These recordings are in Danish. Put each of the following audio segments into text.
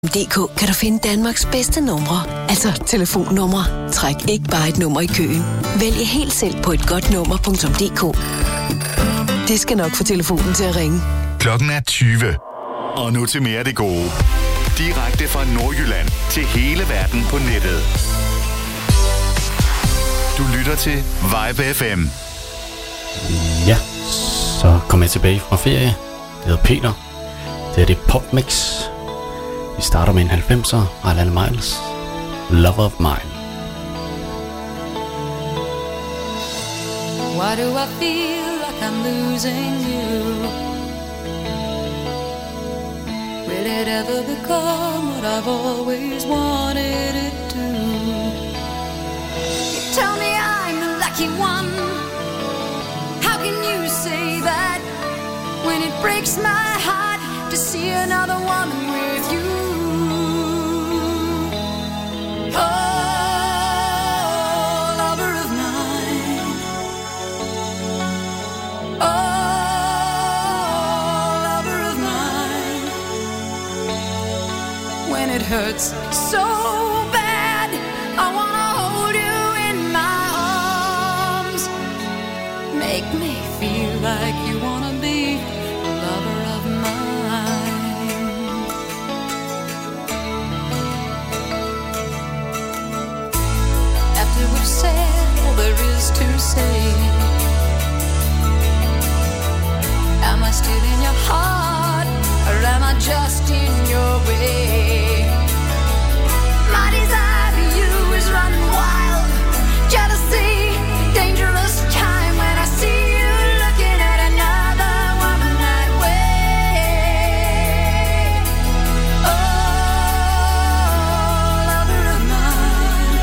DK kan du finde Danmarks bedste numre, altså telefonnumre. Træk ikke bare et nummer i køen. Vælg helt selv på etgodtnummer.dk. Det skal nok få telefonen til at ringe. Klokken er 20. Og nu til mere af det gode. Direkte fra Nordjylland til hele verden på nettet. Du lytter til Vibe FM. Ja, så kom jeg tilbage fra ferie. Det hedder Peter. Det er det Popmix. Vi starter med en 90'er, Alana Miles, Lover of Mine. Why do I feel like I'm losing you? Will it ever become what I've always wanted it to? You tell me I'm the lucky one. How can you say that when it breaks my heart to see another woman with you? Oh, lover of mine. Oh, lover of mine. When it hurts so bad, I wanna hold you in my arms. Make me feel like you wanna be a lover of mine. After we've said all there is to say, am I still in your heart, or am I just in your way? My desire for you is running wild. Jealousy, dangerous time when I see you looking at another woman that way. Oh, lover of mine.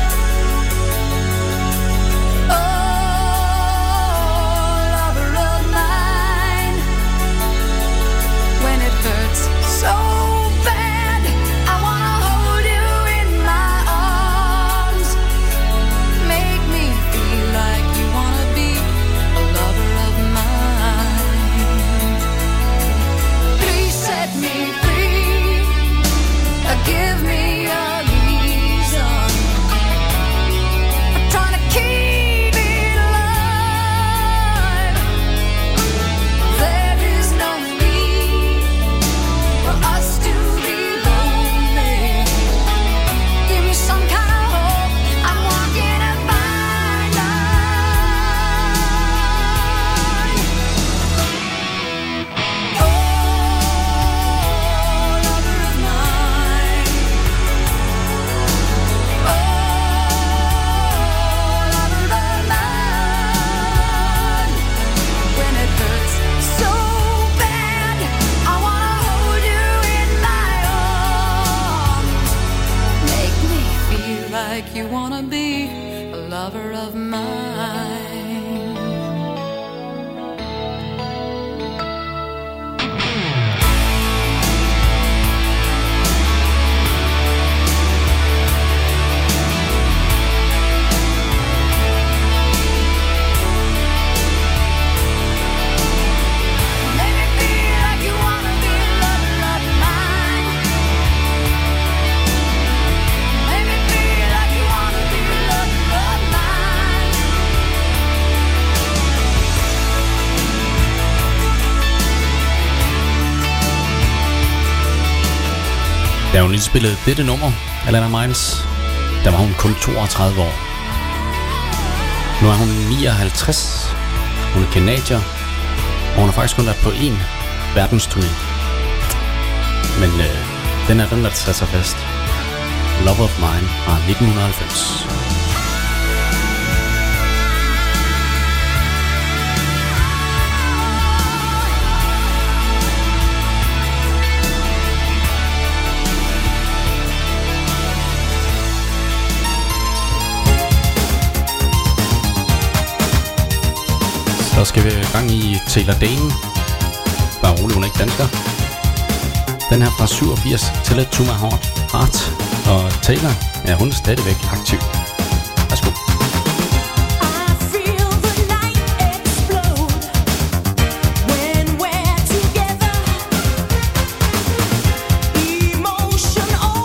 Oh, lover of mine. When it hurts so bad, I wanna hold you in my arms. Make me feel like you wanna be a lover of mine. Please set me free. Give me a reason. I'm trying to keep it alive. There is no need for us to be lonely. Give me some kind of hope. I'm walking a fine line. Oh, lover of mine. Oh, lover of mine. When it hurts so bad, I wanna hold you in my arms. Make me feel like you wanna be a lover of mine. Make me feel like you wanna be a lover of mine. Make me feel like you wanna be a lover of mine. Da hun indspillede dette nummer, Alana Miles, der var hun kun 32 år. Nu er hun 59. Hun er canadier, og hun har faktisk kun været på én verdensturné. Men den er den, der tager sig fast. Love of Mine fra 1990. Så skal vi i gang i Taylor Dane. Bare rolig, hun er ikke dansker. Den her fra 87, Tell It To My Heart. Og Taylor, ja, hun er stadigvæk aktiv. Værsgo. When we're together, emotion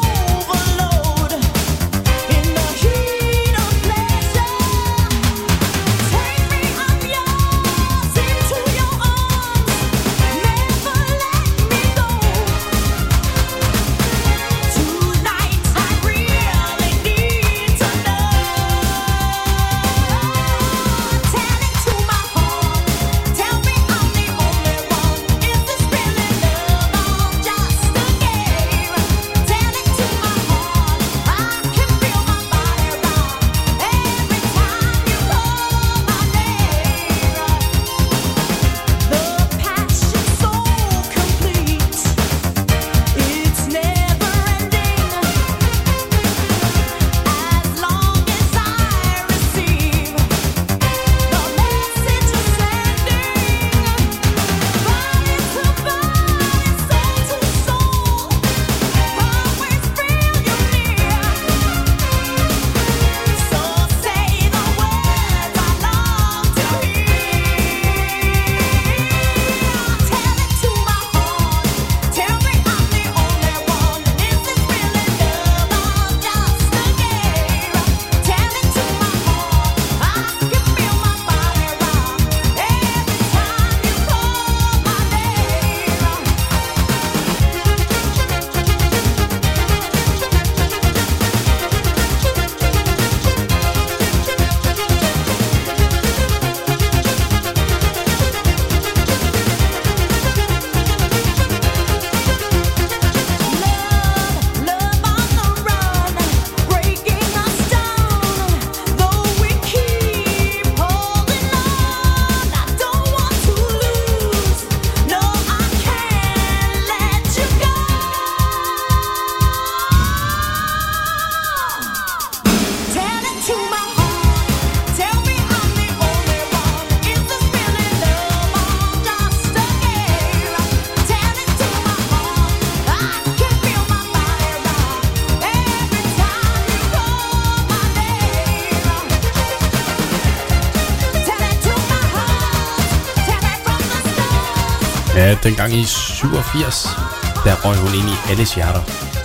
Ja, dengang i 87, der røg hun ind i alles hjerter.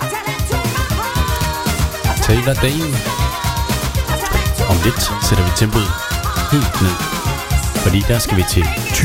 Taylor Dane. Om lidt sætter vi tempoet helt ned, fordi der skal vi til Thy.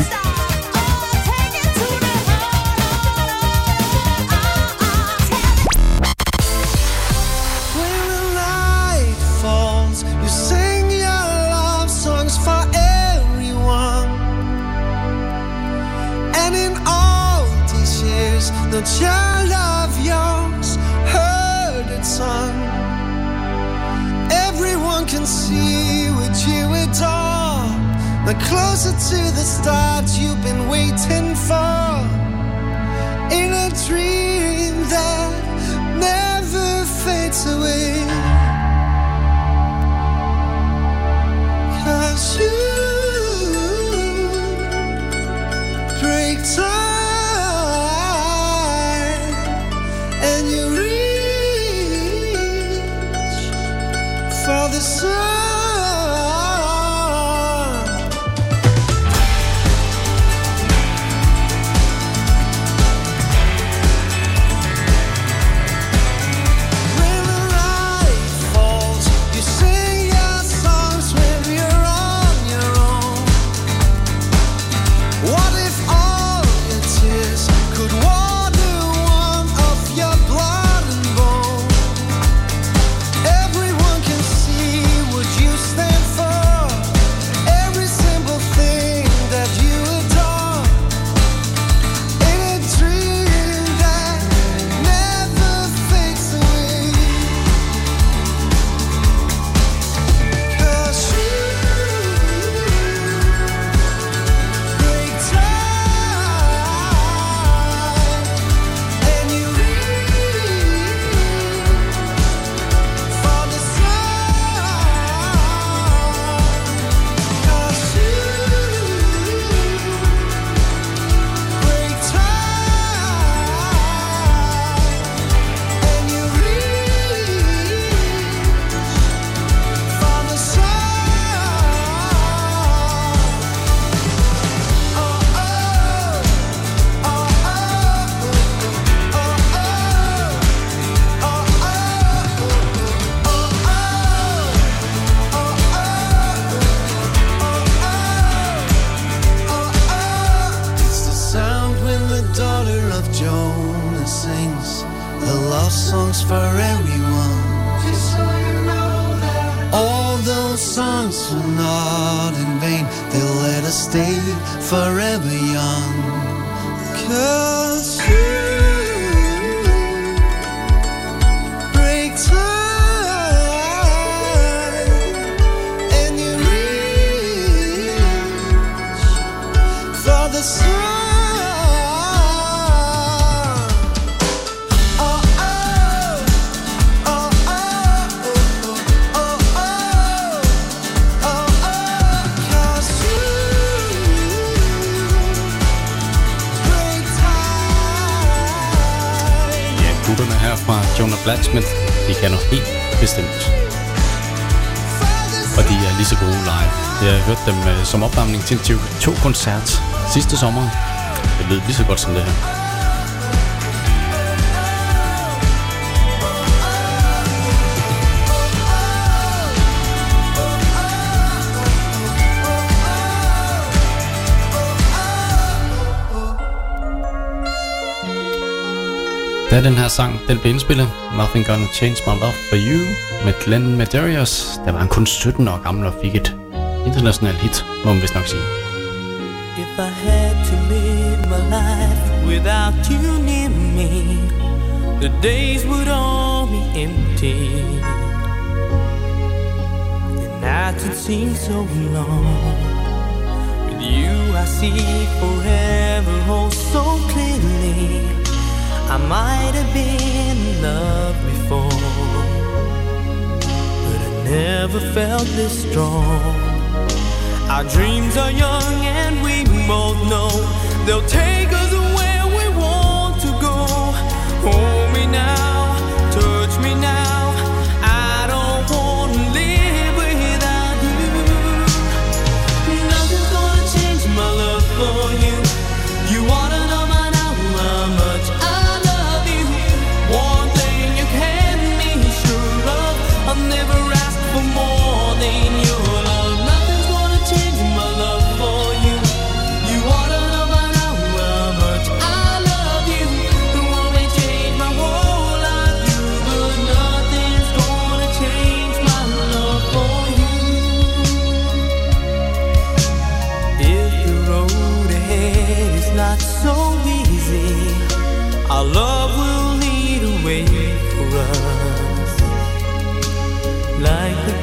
The child of yours heard it sung. Everyone can see what you adore. The closer to the start you've been waiting for. In a dream that never fades away. 'Cause you break time. For the sun. When the light falls, you sing your songs when you're on your own. What if all your tears could water one of your blood and bone? Everyone can see what you stand for. Every simple thing that you adore. In a dream that never fades away. 'Cause you break time and you reach for the sun. 'Cause you break time and you reach for the sun. Oh oh oh oh oh It's the sound when the daughter of Jonah sings the love songs for everyone. Just so you know that all those songs were not in vain. They'll let us stay forever young. 'Cause you break time and you reach for the sun. Oh oh oh oh oh oh oh oh. 'Cause you break time. Ja, gutterne her fra Jonah Blacksmith, de kan noget helt bestemt. Og de er lige så gode live. Jeg har hørt dem som opvarmning til en TV2-koncert sidste sommer. Det lød lige så godt som det her. Da den her sang den blev indspillet, Nothing Gonna Change My Love For You med Glenn Medeiros, der var han kun 17 år gammel og fik et internationalt hit, må man vist nok sige. If I had to live my life without you near me, the days would all be empty. The nights would seem so long. With you I see forever oh so clearly. I might have been in love before, but I never felt this strong. Our dreams are young and we both know they'll take us where we want to go. Hold me now, touch me now. I don't want to live without you. Nothing's gonna change my love for you. You ought to know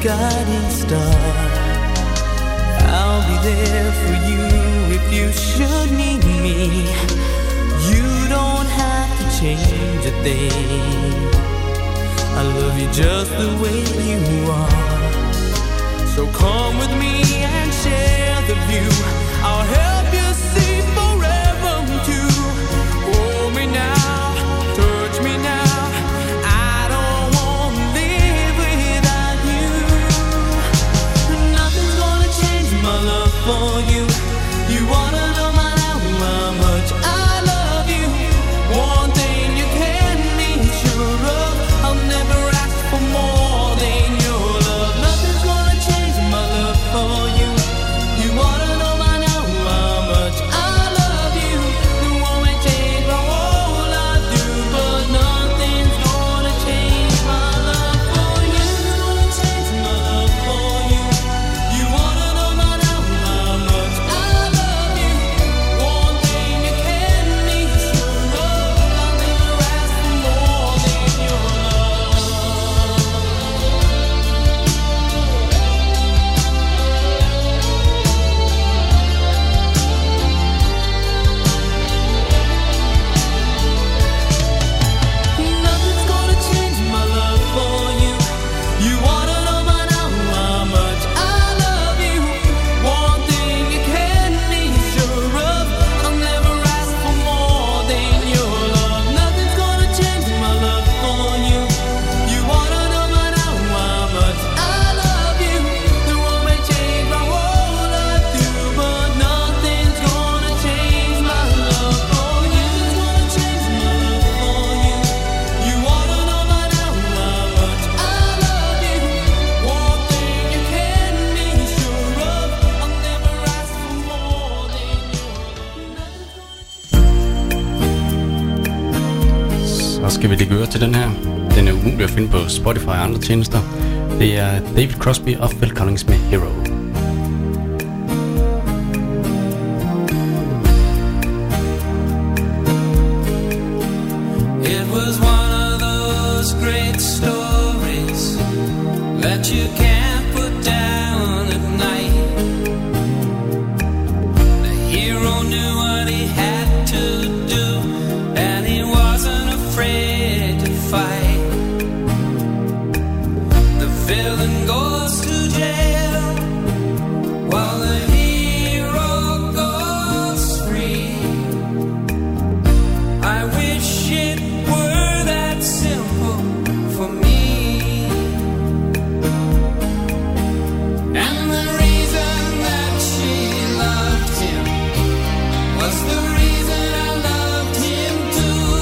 guiding star. I'll be there for you if you should need me. You don't have to change a thing. I love you just the way you are. So come with me and share the view. I'll help you see forever too. Hold me now, touch me now. I don't want to live without you. Nothing's gonna change my love for you. You wanna know how much I love you. One thing you can be sure of, I'll never ask for more than your love. Nothing's gonna change my love for you. You wanna know by now how much I love you. It won't change my whole life through, but nothing's gonna change my love for you. Change my love for you. You wanna know by now how much I love you. One thing you can be sure of, I'll never ask for more than your love. Nothing's gonna change my love for you. You wanna know by now how much I love you. One thing you can be sure of, I'll never ask for more than your love. Nothing's gonna change my love for you. You wanna know by now how much I love you. It won't change my whole life through, but nothing's gonna change my love for you. It's gonna change my love for you. You wanna know by now how much I love you. One thing you can be sure of, I'll never ask for more than your love. Så skal vi lige høre til den her. Den er umulig at finde på Spotify og andre tjenester. Det er David Crosby og Phil Collins med Hero. It was one of those great stories that you can't put down at night. The hero knew what he had to do, and he wasn't afraid to fight. The villain goes to jail while the hero goes free. I wish it were that simple for me. And the reason that she loved him was the reason I loved him too.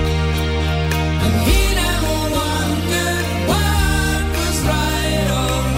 And he never wondered what was right or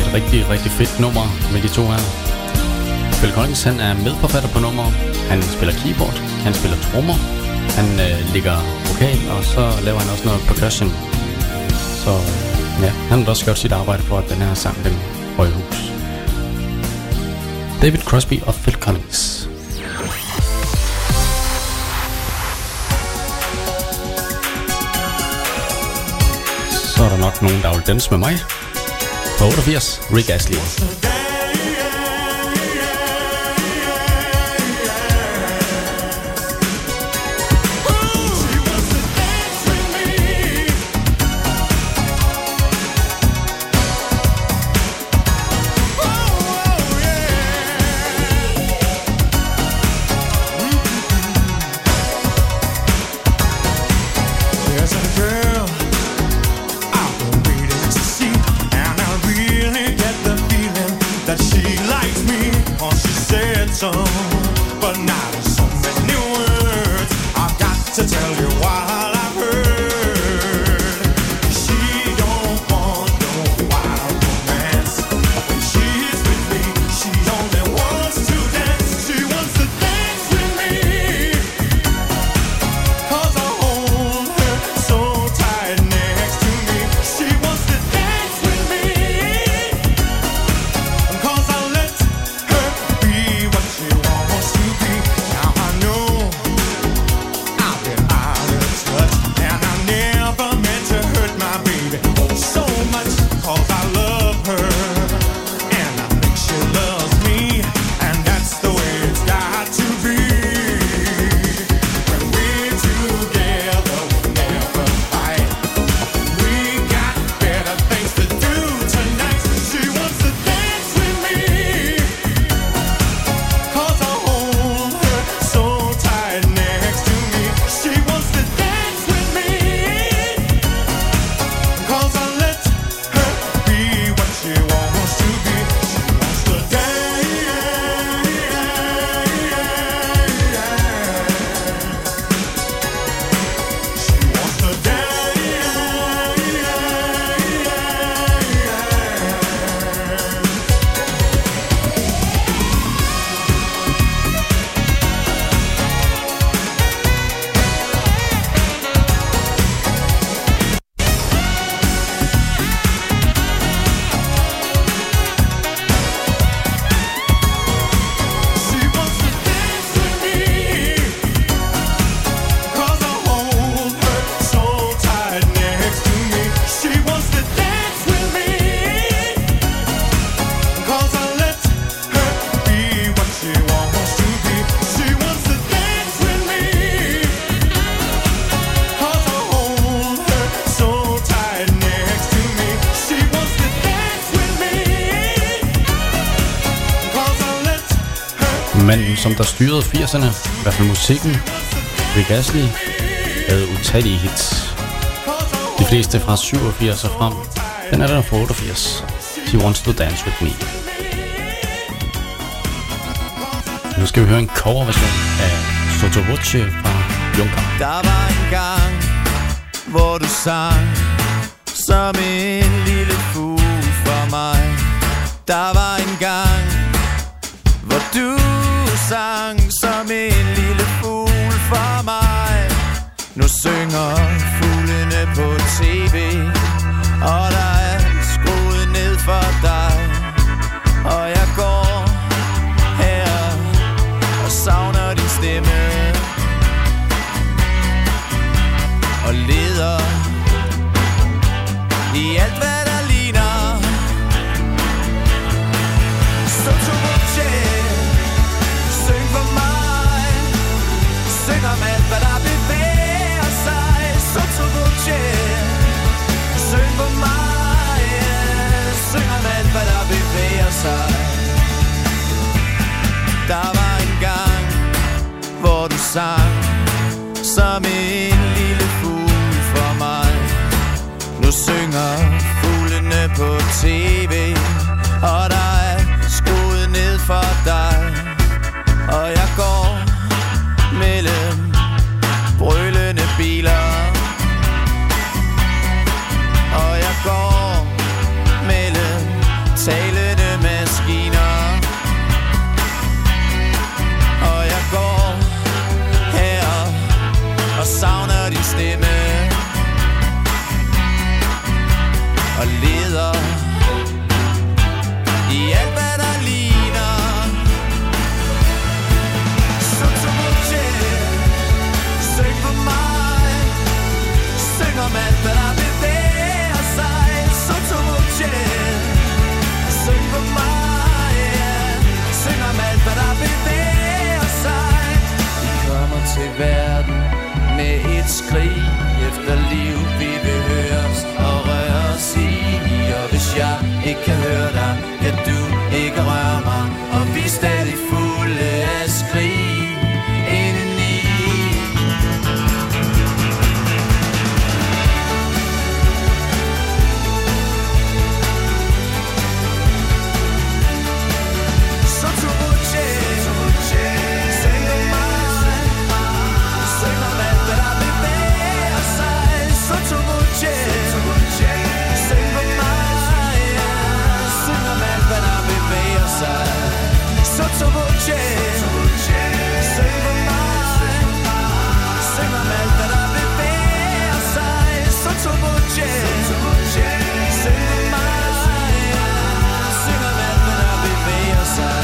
et rigtig, rigtig fedt nummer med de to her. Phil Collins, han er medforfatter på nummer. Han spiller keyboard, han spiller trommer, han ligger vokal, og så laver han også noget percussion. Så ja, han har også gjort sit arbejde for, at den her sang, den røg i hus. David Crosby og Phil Collins. Så er der nok nogen, der vil danse med mig. På 88, Rick Astley. Manden, som der styrede 80'erne, i hvert fald musikken, Rick Astley, havde utallige hits. De fleste fra 87 og frem. Den er der fra 88. She Wants to Dance With Me. Nu skal vi høre en coverversion af Sotto Voce fra Juncker. Der var en gang, hvor du sang som en lille fugl for mig. Der var en gang, hvor du sang som en lille fugl for mig. Nu synger fuglene på tv, og der er skruet ned for dig. Og jeg går her og savner din stemme, og leder i alt hvad der ligner. Sotto voce, syng for mig, syng om alt hvad der bevæger sig. Sotto voce, syng for mig, syng om alt hvad der bevæger sig. Der var en gang, hvor du sang som en lille fugl for mig. Nu synger fuglene på tv, og der er skruet ned for dig. Og jeg går mellem brølende biler, og jeg går mellem tag steder i alt hvad der ligner. Sotobotje, syng for mig, syng om alt hvad der bevæger sig. Sotobotje, syng for mig, syng om alt hvad der bevæger sig. Vi kommer til verden med et skrig efter liv, vi vil høres og røre os i. Og hvis jeg ikke kan høre dig, kan du ikke røre mig. Og vi er stadig fulde af skrig indeni. Så Sotobotje, syng om mig, syng om alt hvad der bevæger sig. Sotobotje, syng for mig, syng om alt hvad der bevæger sig. Sotobotje, syng for mig, syng om alt hvad der bevæger sig. Sotobotje, syng for mig, syng om alt hvad der bevæger sig.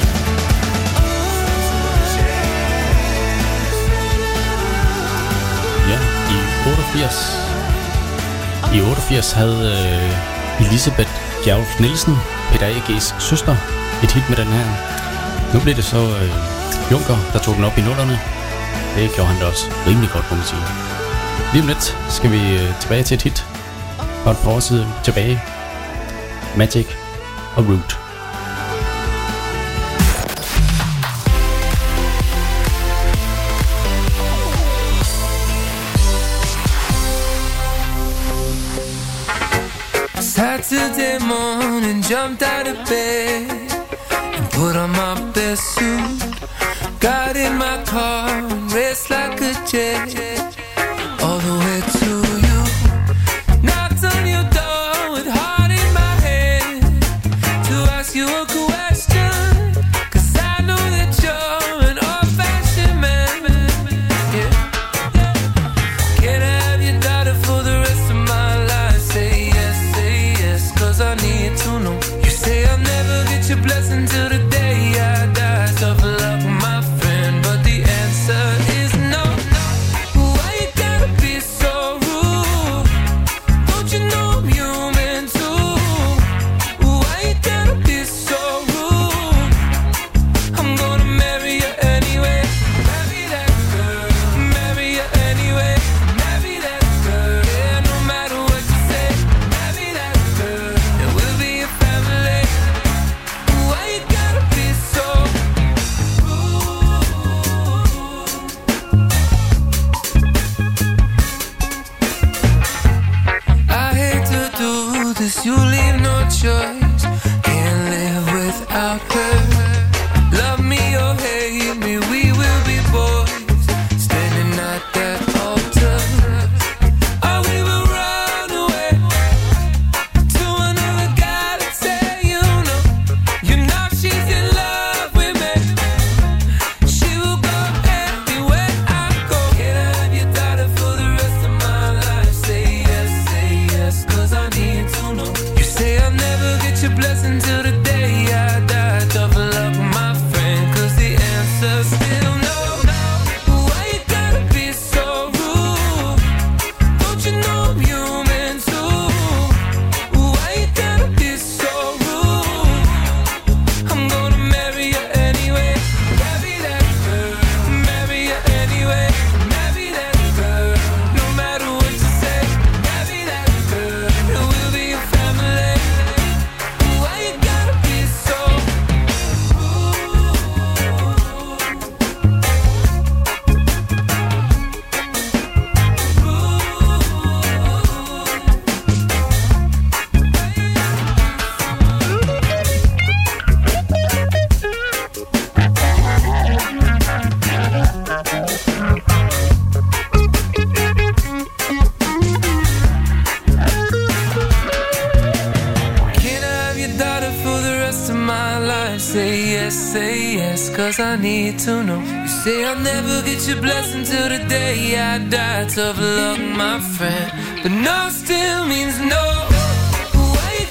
Ja, i 88 havde Elisabeth Gjerulf Nielsen, Peter A.G's søster, et hit med den her. Nu blev det så Junker, der tog den op i nullerne. Det gjorde han da også rimelig godt, må man sige. Lige om lidt skal vi tilbage til et hit fra et par år siden tilbage. Magic og Root. Saturday morning, jumped out of bed and put on my best suit. Got in my car and raced like a jet all the way to you. Knocked on your door with heart in my head to ask you a question, 'cause I know that you're an old-fashioned man. Yeah. Can I have your daughter for the rest of my life? Say yes, 'cause I need to know. You say I'll never get your blessing till the day I die. Tough luck, my friend, but the answer is no. Why you gotta be so rude? Don't you know I'm human too? Why you gotta be so rude? I'm gonna marry you anyway. Marry that girl, marry you anyway. Marry that girl, yeah, no matter what you say. Marry that girl, and we'll be a family. Why you gotta be so rude? I hate to do this, you leave no choice. Can't live without her. Love me or hate me, we will be boys, standing at that altar. Or we will run away to another guy that say you know she's in love with me. She will go anywhere I go. Can I have your daughter for the rest of my life? Say yes, 'cause I need to know. You say I'll never get your blessing till the day I die. Tough luck, my friend, 'cause the answer's still no. Why you gotta be so rude? Don't you know I'm human too? Why you gotta be so rude? I'm gonna marry you anyway. Marry that girl, marry you anyway. Marry that girl, no matter what you say. Marry that girl, and we'll be a family. Why you gotta be so rude? Can I have your daughter for the rest of my life? Say yes, 'cause I need to know. You say I'll never get your blessing till the day I die. Tough luck, my friend, but no still means no. Why you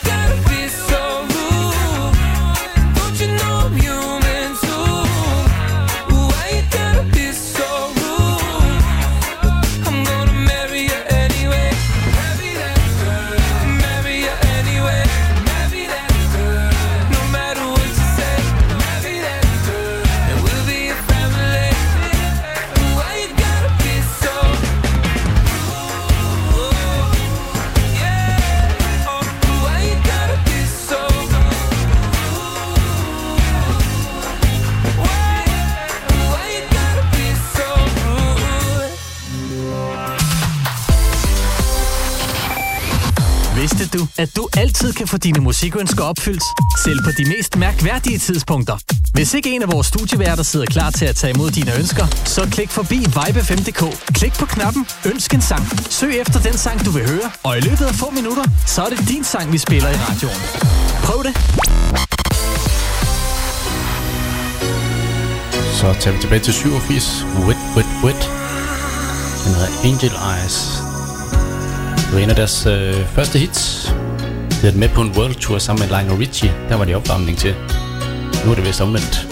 at du altid kan få dine musikønsker opfyldt, selv på de mest mærkværdige tidspunkter. Hvis ikke en af vores studieværter sidder klar til at tage imod dine ønsker, så klik forbi Vibe5.dk. Klik på knappen Ønsk en sang. Søg efter den sang, du vil høre, og i løbet af få minutter, så er det din sang, vi spiller i radioen. Prøv det! Så tager vi tilbage til 87. Wet, Wet, Wet. Den hedder Angel Eyes. Det var en af deres første hits. De havde med på en world tour sammen med Lionel Richie. Der var de opvarmning til. Nu er det vist omvendt.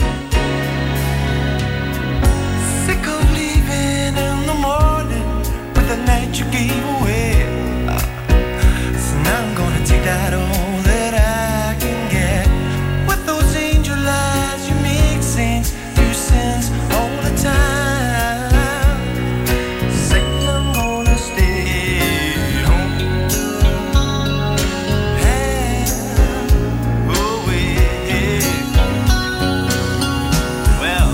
Sick of leaving in the morning with the night you gave away. So now I'm gonna take that all that I can get. With those angel eyes you make saints do sins all the time. Say I'm gonna stay home. Hey, oh yeah. Well,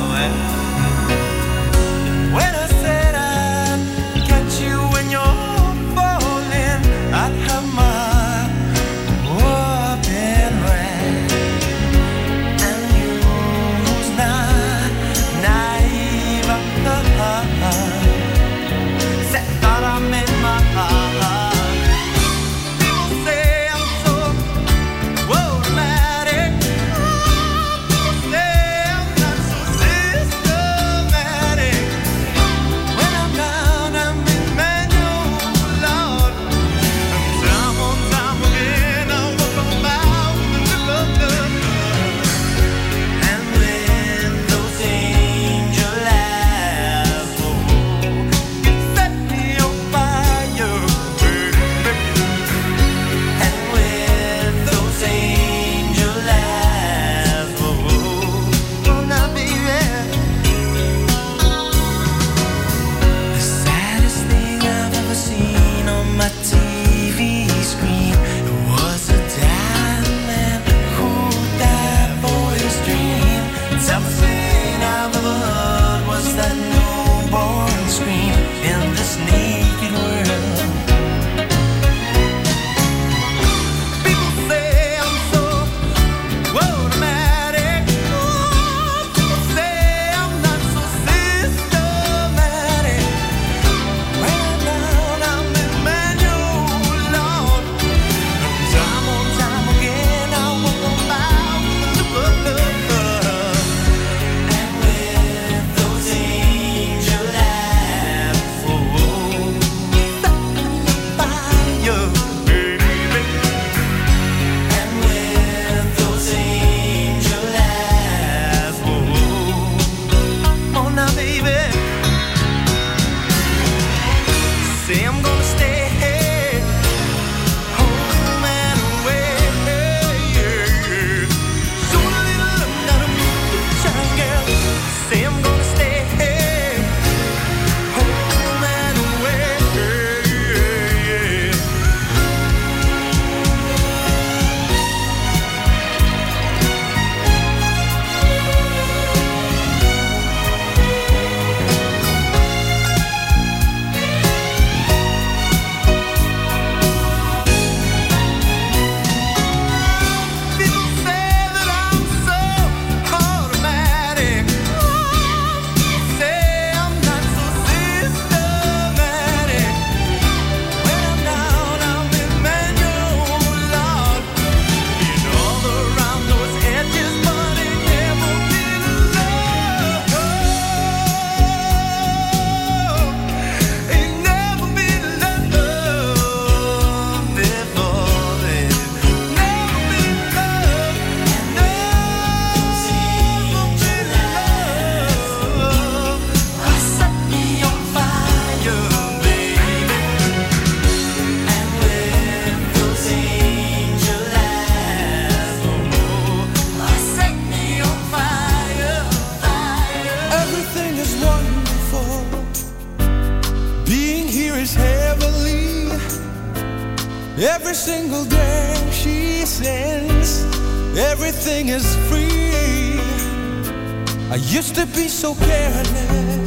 when I said I'd catch you when you're falling, I'd have my whooping right. And you who's not naive of the heart said thought I made my heart. People say I'm so automatic. People say I'm not so systematic. When I'm down, I'm in manual, Lord. And time on time again, I walk about the love. And when those angel eyes, you set me on fire, baby. And with those angel eyes, oh, now baby. The saddest thing I've ever seen on my TV screen was a diamond who that boy's dream. Toughest thing I've ever heard was that newborn scream in this naked world. People say I'm so automatic. People say I'm not so systematic. When I'm down, I'm in manual, Lord. And time on time again, I walk about the love. And with those angel eyes, set me fire, baby. And with those angel eyes, oh now baby. Say I'm gonna stay home and away. So a little love, not a moonshine girl. Say I'm gonna stay home and away. People say that I'm so automatic. Say I'm not so systematic. When I'm down, I'm in manual, Lord. Been all around those edges, but it never been love. It never been love before then. Never been love. Set me on fire, baby. And with those angel eyes, set me on fire, fire. Everything is wonderful. Being here is heavenly. Every single day she sings. Everything is free. I used to be so careless,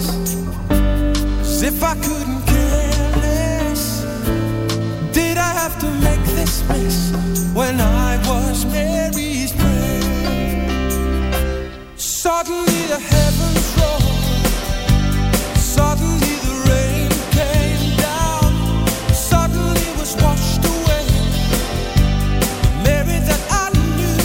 as if I couldn't care less. Did I have to make this Christmas when I was Mary's prayer. Suddenly the heavens roared, suddenly the rain came down, suddenly was washed away Mary that I knew.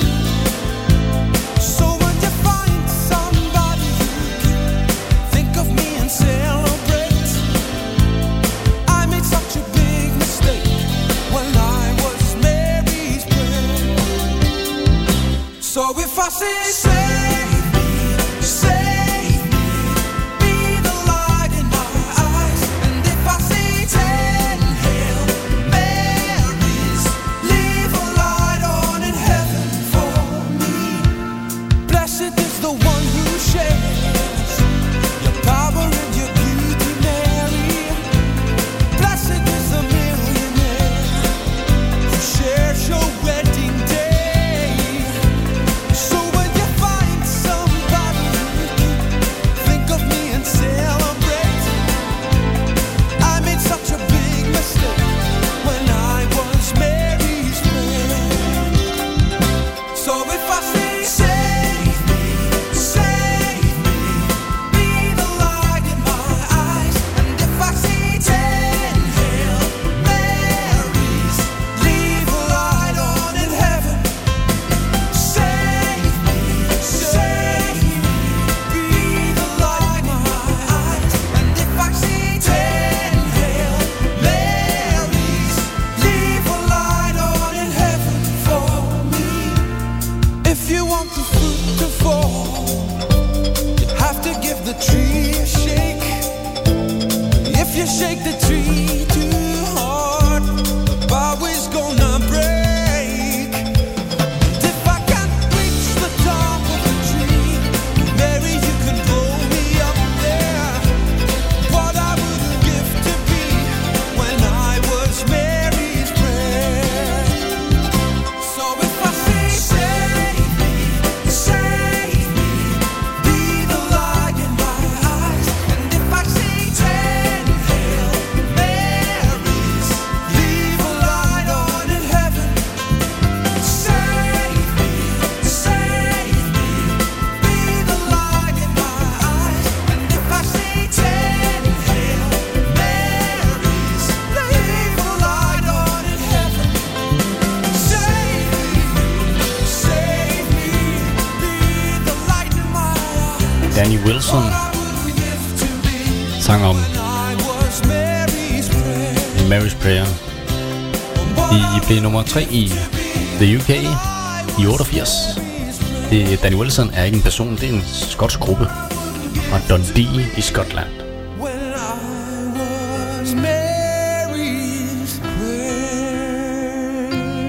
So when you find somebody you can think of me and celebrate, I made such a big mistake when I was Mary's prayer. So if I say save me, save me, be the light in my eyes. And if I say 10 Hail Marys, leave a light on in heaven for me. Blessed is the one who shares your power and your beauty, Mary. Blessed is the millionaire who shares your wedding day. So when you find somebody you can think of me and celebrate, I made such a big mistake when I was Mary's prayer. So if I say save me, be the light in my eyes. And if I say 10 Hail Marys, leave a light on in heaven. Save me, be the light in my eyes. And if I say 10 Hail Marys, leave a light on in heaven for me. If you want the fruit to fall, you have to give the tree a shake. If you shake the tree too hard, the bough is gonna break. And if I can't reach the top of the tree, Mary, you can blow me up there. What I wouldn't give to be when I was Mary's prayer. So if I say save me, be the light in my eyes. And if I say 10 Hail Marys, leave a light on in heaven. Save me, be the light in my eyes. And if I say 10 Hail Marys, leave a light on in heaven. Save me, be the light in my eyes. Danny Wilson sang om Mary's Prayer. De blev nummer 3 i The UK i 88. Danny Wilson er ikke en person, det er en skotsk gruppe fra Dundee i Skotland. When I was Mary's prayer.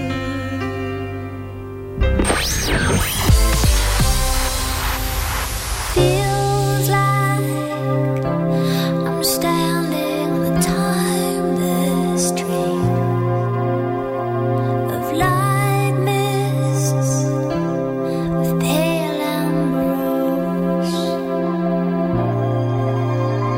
Feels like I'm standing on the timeless stream of light mists, of pale ambrose.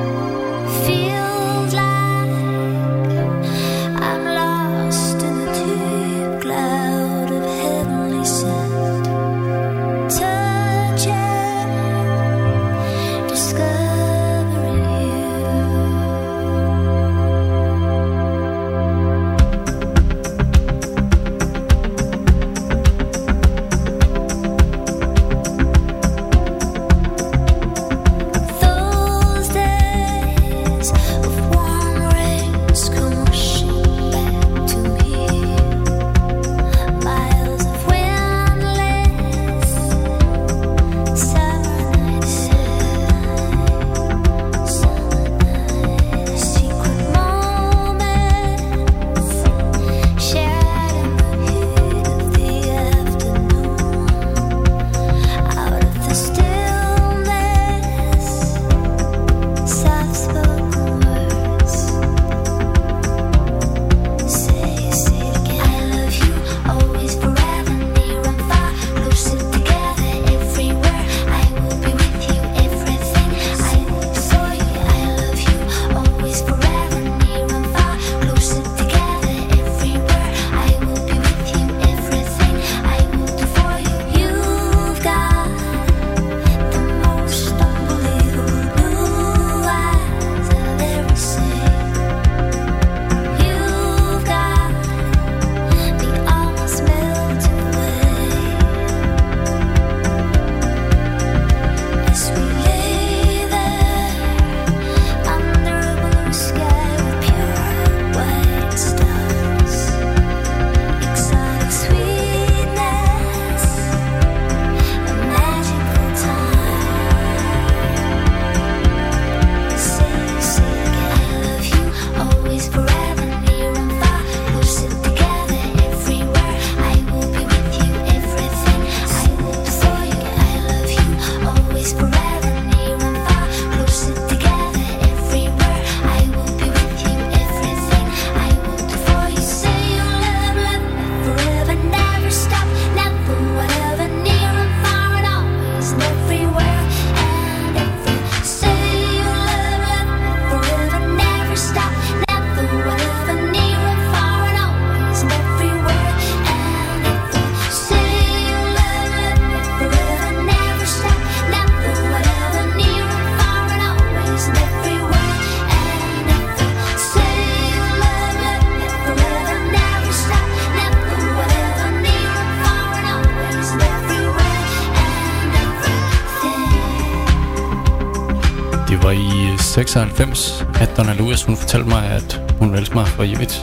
var i 96, at Donna Lewis, hun fortalte mig, at hun elsker mig for evigt.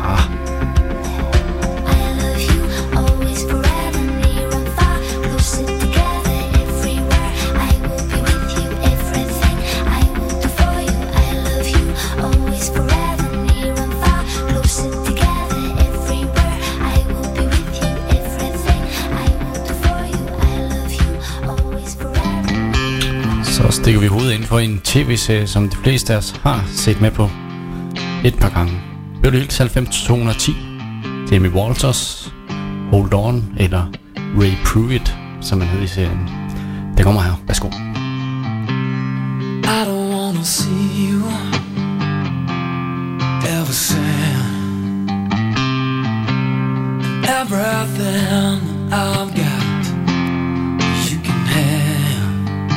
Så stikker vi hovedet ind for en tv-serie, som de fleste af os har set med på et par gange. Beverly Hills 90210, Jamie Walters, Hold On, eller Ray Pruitt, som man hedder i serien. Det kommer her. Værsgo. I don't wanna see you ever sad. Everything I've got you can have.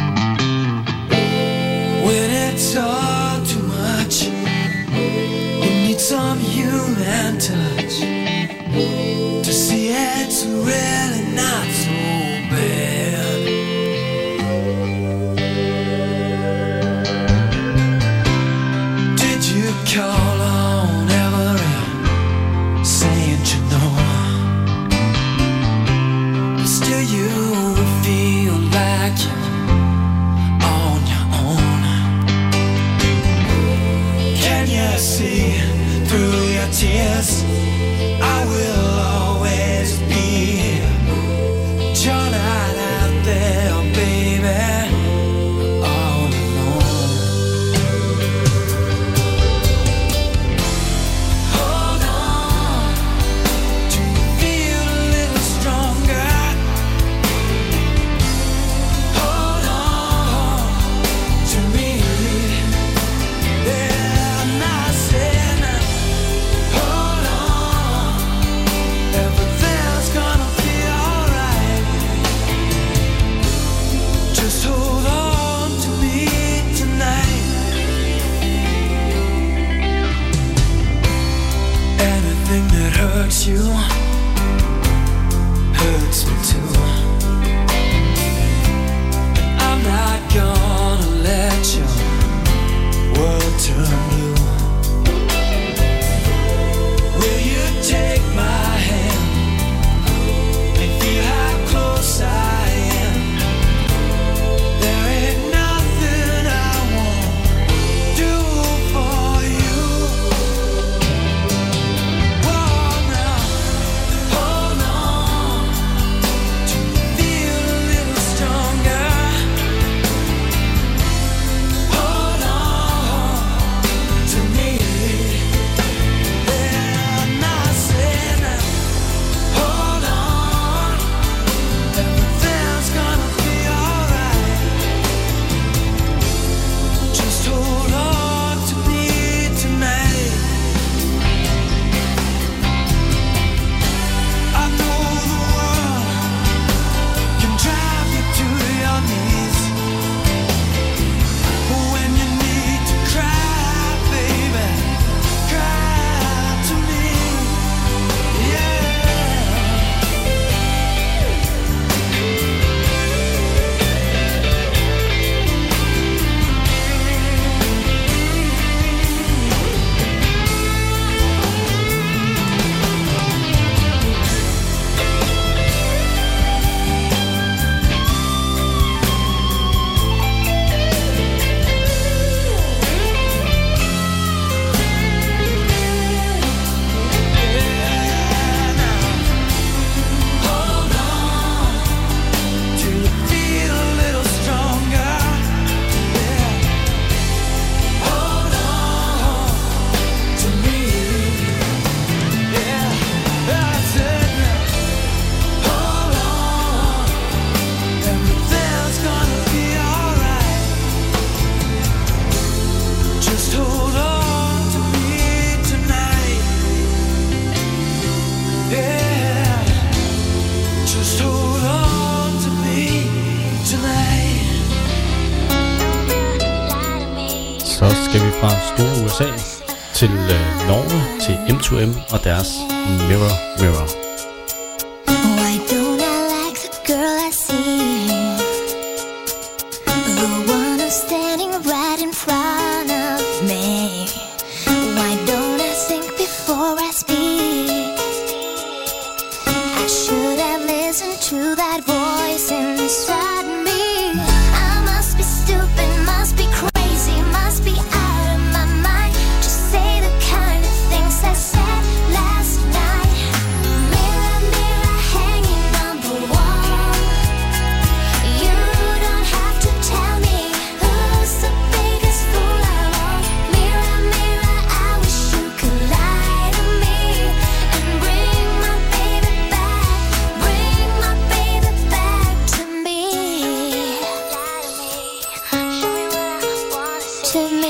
When it's all too much, you need some human touch to see it's really not so bad. Did you call on every saint you know? But still you feel like you're on your own. Can you see through your tears? I will always be here. You're not out there, baby, all alone. Hold on, do you feel a little stronger? Hold on to me. Yeah, I'm not saying that. Hold on, everything's gonna be alright. Just hold on to me tonight. Anything that hurts you hurts me too. I'm not gonna let your world turn blue. Will you take my hand and feel how close I am? There ain't nothing I won't do for you. Whoa, now, hold on, do you feel a little stronger? Hold on to me. Yeah, I'm not saying that. Hold on, everything's gonna be alright. Just hold on to me tonight. I know the world can drive you to your knees. When you need to cry, baby, cry to me. Yeah. Hold on till you feel a little stronger. Yeah. Hold on to me. Yeah, that's it now. Hold on, everything's gonna be alright. Just hold on to me tonight. Yeah, just hold on to me tonight. Så skal vi fra store USA til Norge, til M2M og deres Mirror Mirror. Why don't I like the girl I see? The one who's standing right in front to that voice inside me. I must be stupid, must be crazy, must be out of my mind to say the kind of things I said last night. Mirror, mirror hanging on the wall, you don't have to tell me who's the biggest fool of all. Mirror, mirror, I wish you could lie to me and bring my baby back, bring my baby back to me. To me.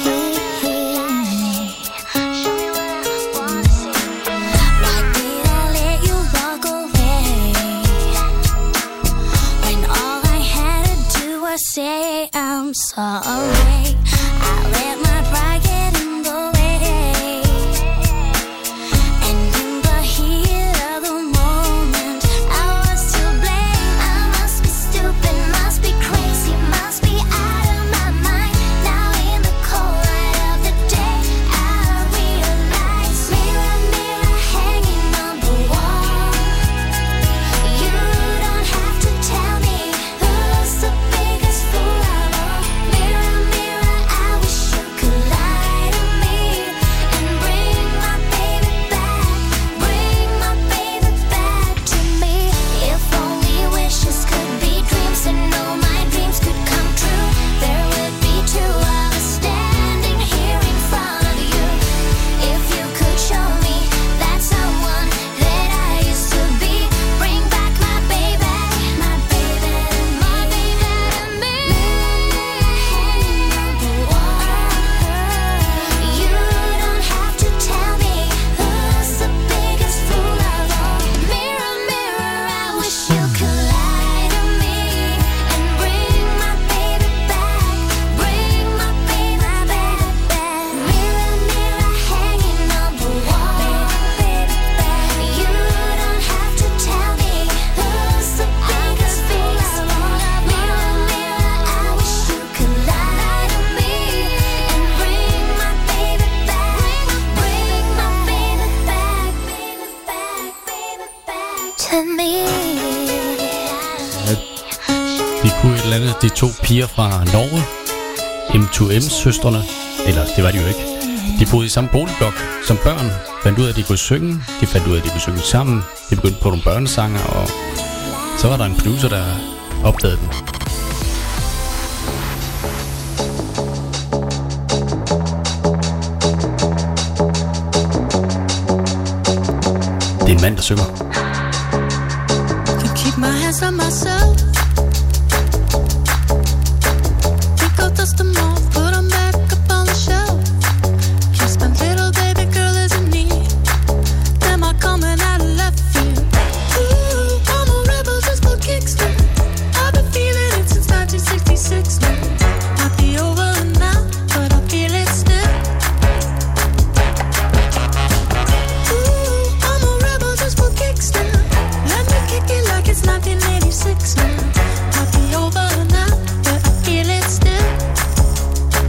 Why did I let you walk away when all I had to do was say I'm sorry? I let my pride get in the way, and in the heat of the moment I was to blame. I must be stupid, must be crazy, must be out of my mind. Now in the cold light of the day I realize. Mirror, mirror hanging on the wall, you don't have to tell me who's the biggest fool of all. Mirror, mirror, I wish you could lie to me and bring my baby back, bring my baby back to me. If only wishes could be dreams and all my dreams could come true, there would be two of us standing here in front of you. If you could show me that someone that I used to be, bring back my baby, my baby, my baby to me. Hanging on the wall, you don't have to tell me who's the biggest fool of all. Mirror, mirror, I wish you could lie to me and bring my baby back, bring my baby back. Mirror, mirror hanging on the wall, you don't have to tell me who's the biggest fool of all. Mirror, mirror, I wish you could lie to me and bring my baby back, bring my baby back, baby back to me. De kunne et eller andet, de to piger fra Norge, M2M-søstrene, eller det var de jo ikke. De boede i samme boligblok som børn, fandt ud af, at de kunne synge, de fandt ud af, at de kunne synge sammen, de begyndte på nogle børnesanger, og så var der en producer, der opdagede dem. Det er en mand, der synger. Can keep my hands on myself. Pick up, dust them off, put them back up on the shelf. Kiss my little baby girl is in need. Am I coming out of left field? Ooh, I'm a rebel just for kicks now. I've been feeling it since 1966 now. Might be over now, but I feel it still. Ooh, I'm a rebel just for kicks now. Let me kick it like it's 1986 now. Might be over now, but I feel it still.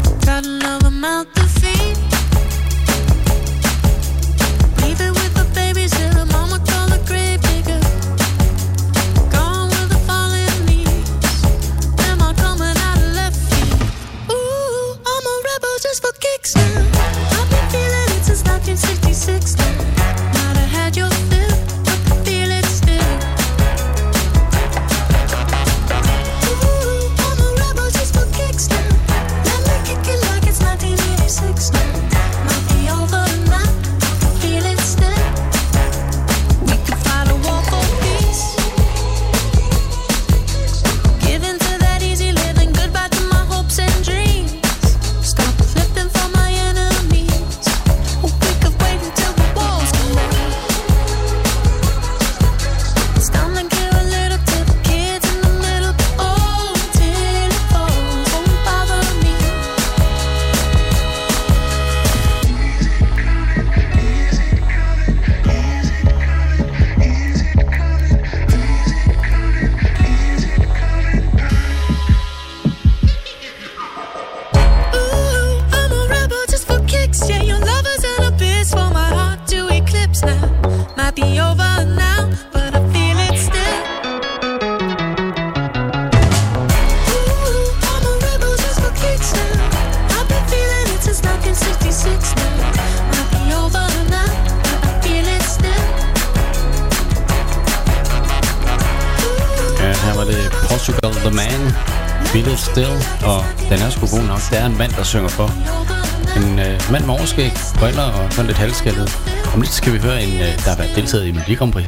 Her var det Portugal The Man, Beat It Still, og den er sgu god nok. Det er en mand, der synger for. En mand med overskæg, briller og sådan lidt halvskældet. Om lidt skal vi høre en, der har været deltaget i Melodi Grand Prix.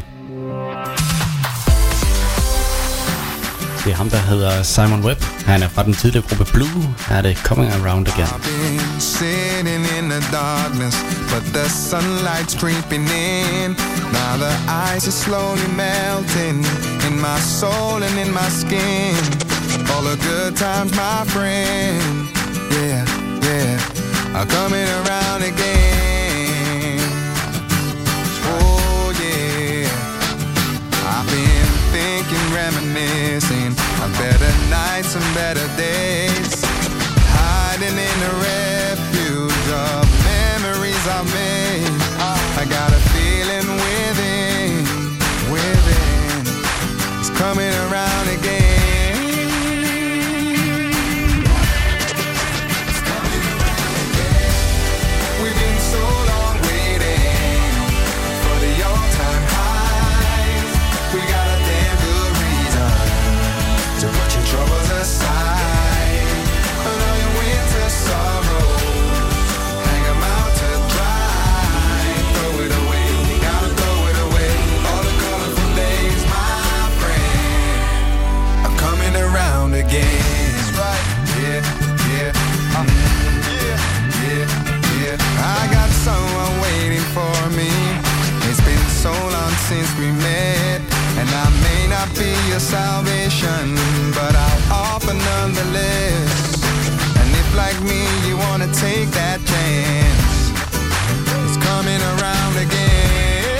Det er ham, der hedder Simon Webb. Han er fra den tidligere gruppe Blue. Her er det Coming Around Again. I've been sitting in the darkness, but the sunlight's creeping in. Now the ice is slowly melting in my soul and in my skin. All the good times, my friend, yeah, yeah, are coming around again. Oh yeah, I've been thinking, reminiscing of better nights and better days, hiding in the refuge of memories I've made. I got a feeling within, it's coming around again. We've been so long waiting for the all-time highs. We got a damn good reason to put your troubles aside, and all your winter sorrows, hang 'em out to dry. Throw it away, you gotta throw it away. All the colorful days, my friend, are coming around again. That's right, yeah, yeah, yeah, yeah. I got someone waiting for me. It's been so long since we met, and I may not be your salvation, but I'll offer nonetheless. And if like me you wanna take that chance, it's coming around again.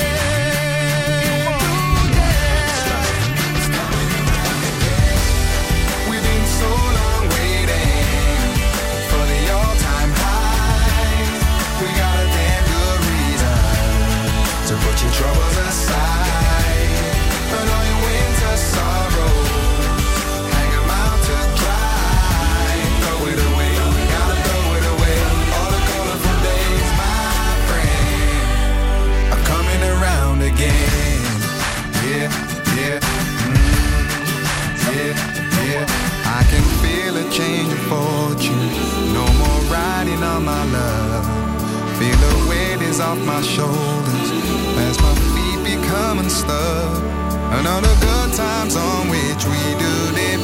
We've been so long waiting for the all-time high. We got a damn good reason to put your troubles aside, and all your winter sorrows, hang 'em out to dry. Throw it away, you gotta throw it away. All the colorful days, my friend, are coming around again. Yeah, yeah, yeah, yeah. I can feel a change of fortune. No more riding on my love. Feel the weight is off my shoulders as my feet become unstuck. And all the good times on which we do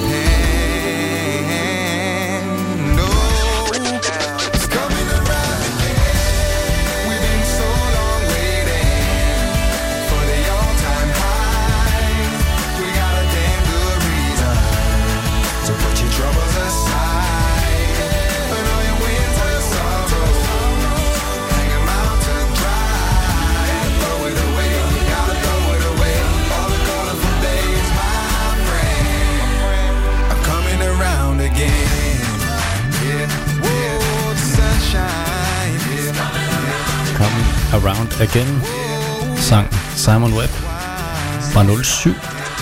depend. Oh, it's coming around again. We've been so long waiting for the all-time high. We got a damn good reason to put your troubles aside, and all your winter sorrows, hang 'em out to dry. Throw it away, you gotta throw it away. All the colorful days, my friend, are coming around again. Yeah, yeah, the sunshine, yeah. Coming Around Again, sang Simon Webb fra 07.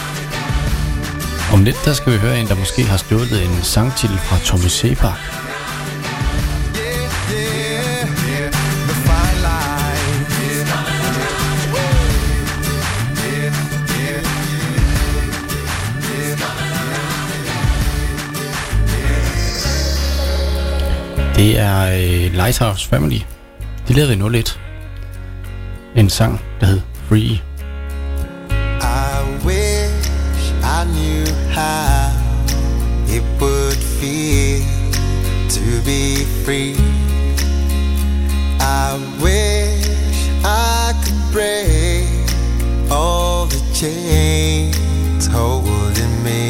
Om lidt der skal vi høre en, der måske har stjålet en sangtitel fra Tommy Sebak. The fine line, Det er Lighthouse Family. De lavede i 01 en sang, der hed Free. I wish I knew how it would feel to be free. I wish I could break all the chains holding me.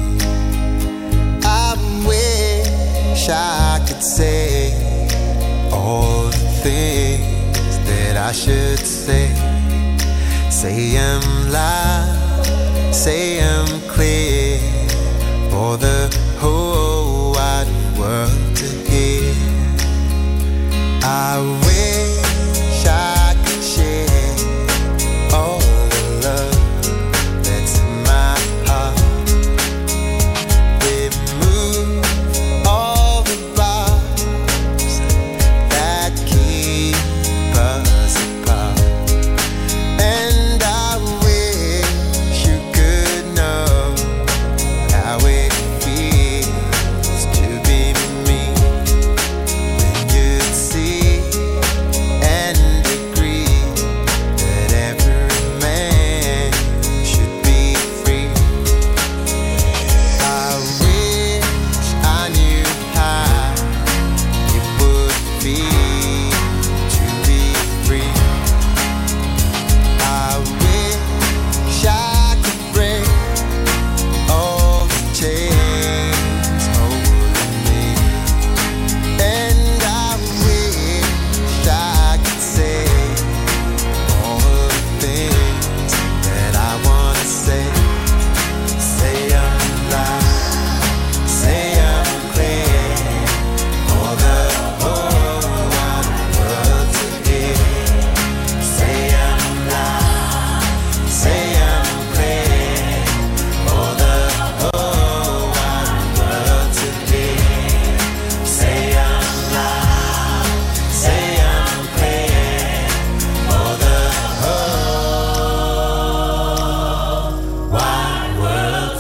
I wish I could say all the things that I should say. Say 'em loud, say 'em clear, for the whole wide world to hear. I wish I could share all the love that's in my heart. Remove all the bars that keep us apart. And I wish you could know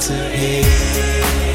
days ahead.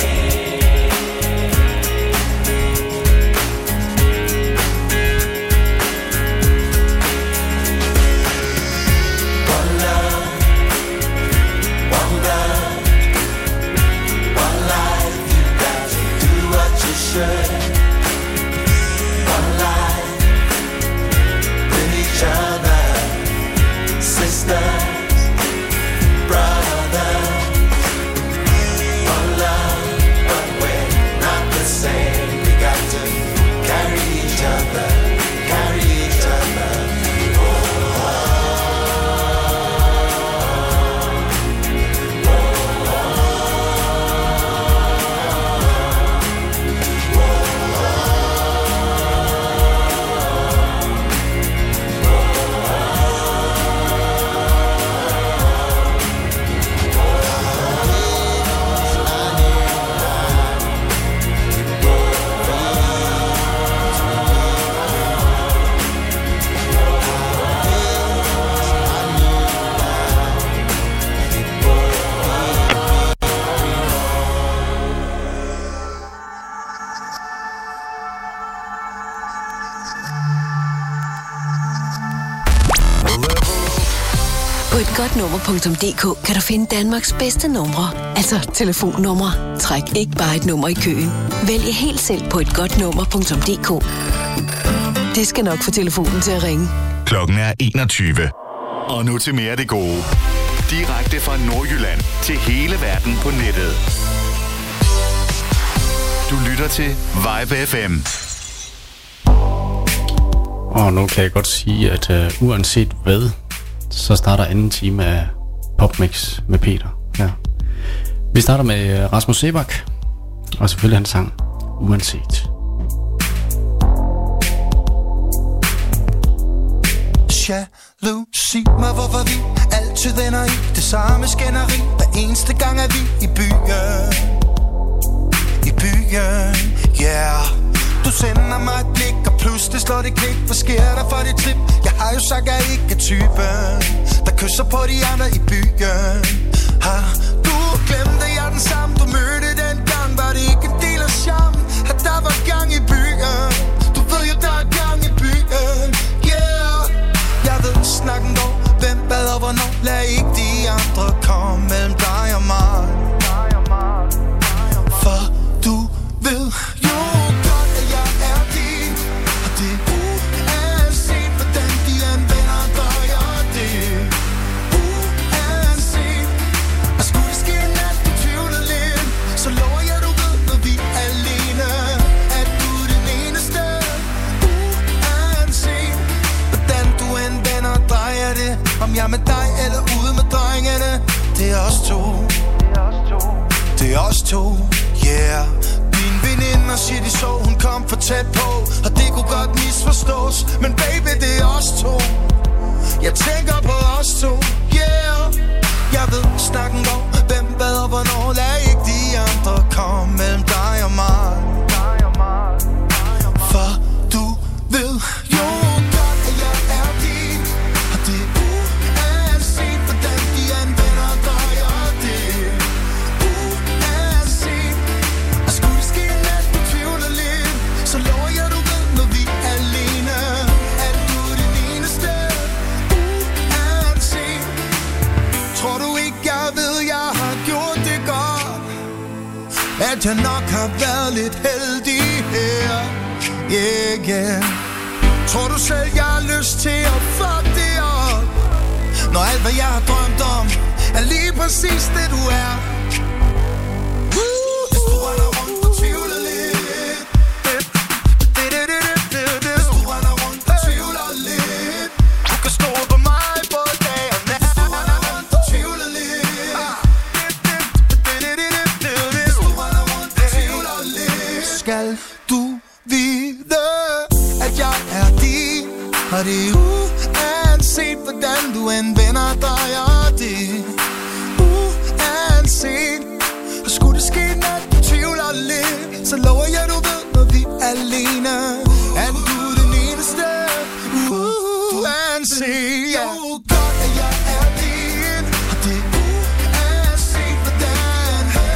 På et godnummer.dk kan du finde Danmarks bedste numre, altså telefonnumre. Træk ikke bare et nummer i køen. Vælg helt selv på et godnummer.dk. Det skal nok få telefonen til at ringe. Klokken er 21. Og nu til mere af det gode. Direkte fra Nordjylland til hele verden på nettet. Du lytter til Vibe FM. Og nu kan jeg godt sige, at uanset hvad, så starter anden time af Popmix med Peter. Ja. Vi starter med Rasmus Sebak, og selvfølgelig hans sang Uanset. Jalousi mig, hvorfor vi altid ender i det samme skænderi. Hver eneste gang er vi i byen. I byen, yeah. Du sender mig et blik, og pludselig slår det klik. Hvad sker der for dit trip? Jeg har jo sagt, jeg ikke er typen, der kysser på de andre i byen. Har du glemt, at jeg er den samme, du mødte dengang? Var det ikke en del af charmen, at der var gang i byen? Du ved jo, der er gang i byen, yeah. Jeg ved snakken går, hvem bad og hvornår. Lad ikke de andre komme mellem dig og mig. For du ved jo godt, at jeg er din. Og det er uanset, hvordan de anvender dig. Og det er uanset. Og skulle det ske en nat, du tvivler lidt, så lover jeg, du ved, når vi er alene, at du er den eneste. Uanset, hvordan du anvender dig. Er det, om jeg er med dig eller ude med drengene. Det er os to. Det er os to, yeah. Min veninde siger de så, hun kom for tæt på, og det kunne godt misforstås. Men baby, det er os to. Jeg tænker på os to, yeah. Jeg ved snakken går, hvem hvad og hvornår. Lad ikke de andre komme mellem dig og mig. For du ved jo godt, at jeg er din. Og det er uanset, hvordan de anvender dig. Og det er uanset. Og skulle det ske en nat, du tvivler lidt, så lover jeg, du ved, når vi er alene, at du er den eneste. Uanset. Tror du ikke, jeg ved, jeg har gjort det godt? At jeg nok har været lidt heldig her. Yeah, yeah. Tror du selv, jeg har lyst til at fuck det op, når alt, hvad jeg har drømt om, er lige præcis det, du er? Hvis du render rundt og tvivler lidt, hvis du render rundt og tvivler lidt, du kan stole på mig både dag og nat. Hvis du render rundt og tvivler lidt, hvis du render rundt og tvivler lidt, skal du vide, at jeg er din. Og det er uanset, hvordan du anvender dig. Og det er uanset. Og skulle det ske, når du tvivler lidt, så lover jeg, du ved, når vi er alene, at du er den eneste. Uanset, ja. Godt, at jeg er din. Og det er uanset, hvordan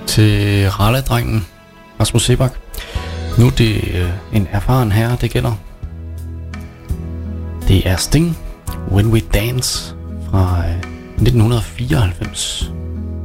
til Raleigh-drengen Rasmus Seebach. Nu er det en erfaren herre, det gælder. Det er Sting, When We Dance fra 1994.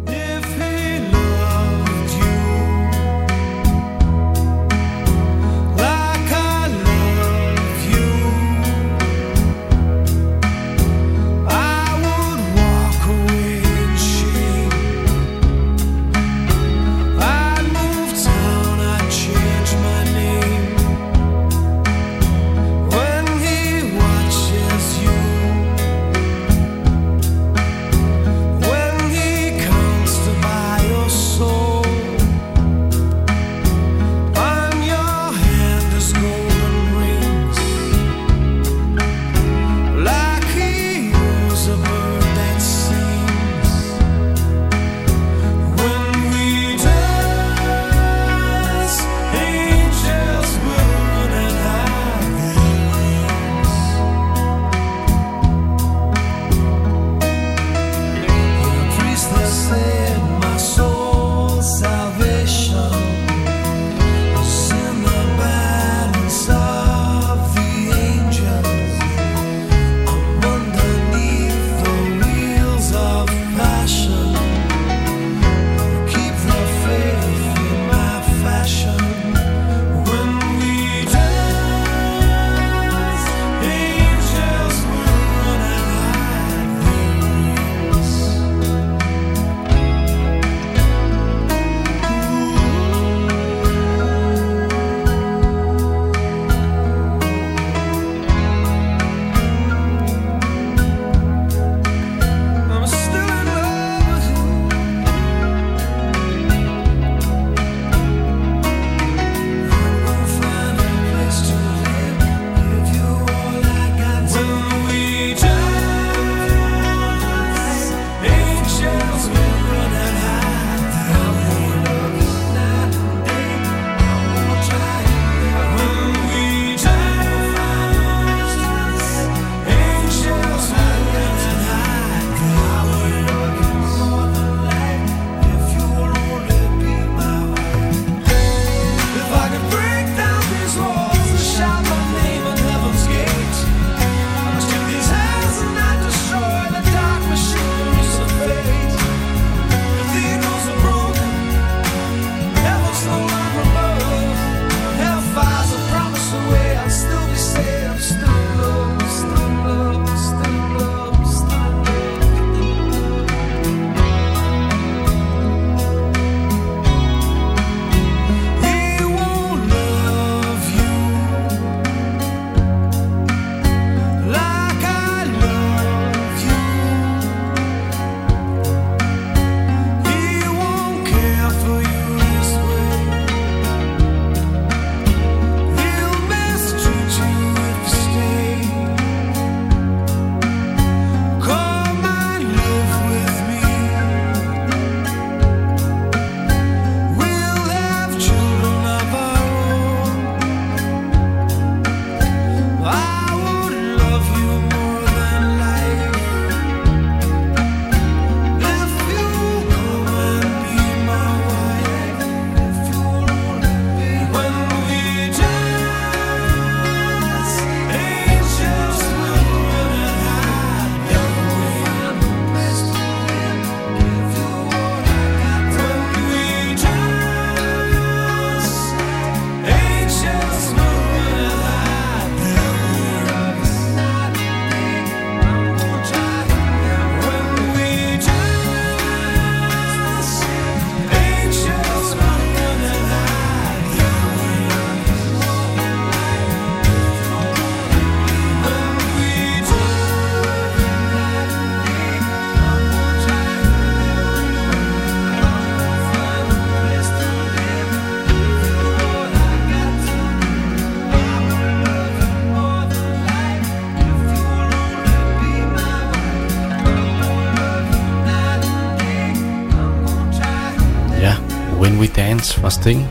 When We Dance fra Sting.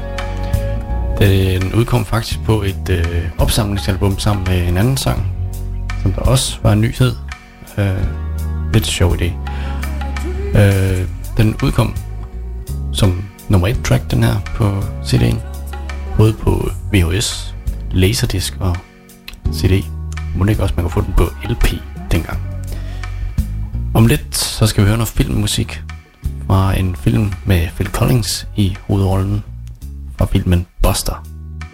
Den udkom faktisk på et opsamlingsalbum sammen med en anden sang, som der også var en nyhed. Lidt sjov idé. Den udkom som nummer 1 track, den her på CD'en. Både på VHS, Laserdisc og CD. Må ikke også man kan få den på LP dengang. Om lidt så skal vi høre noget filmmusik fra en film med Phil Collins i hovedrollen fra filmen Buster.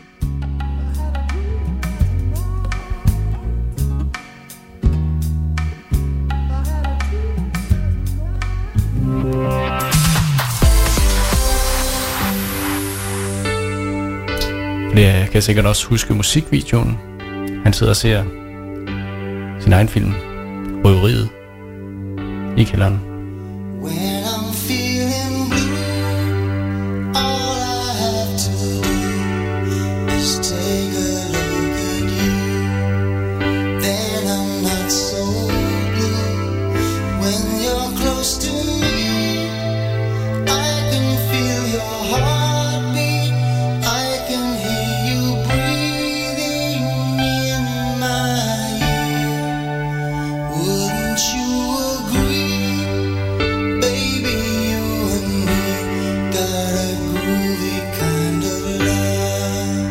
Jeg kan sikkert også huske musikvideoen. Han sidder og ser sin egen film, Røveriet, i kælderen. When I'm feeling blue, all I have to do is take a look at you. Then I'm not so blue. When you're close to me, I can feel your heartbeat. I can hear you breathing in my ear. Wouldn't you agree? Baby, you and me got a groovy kind of love.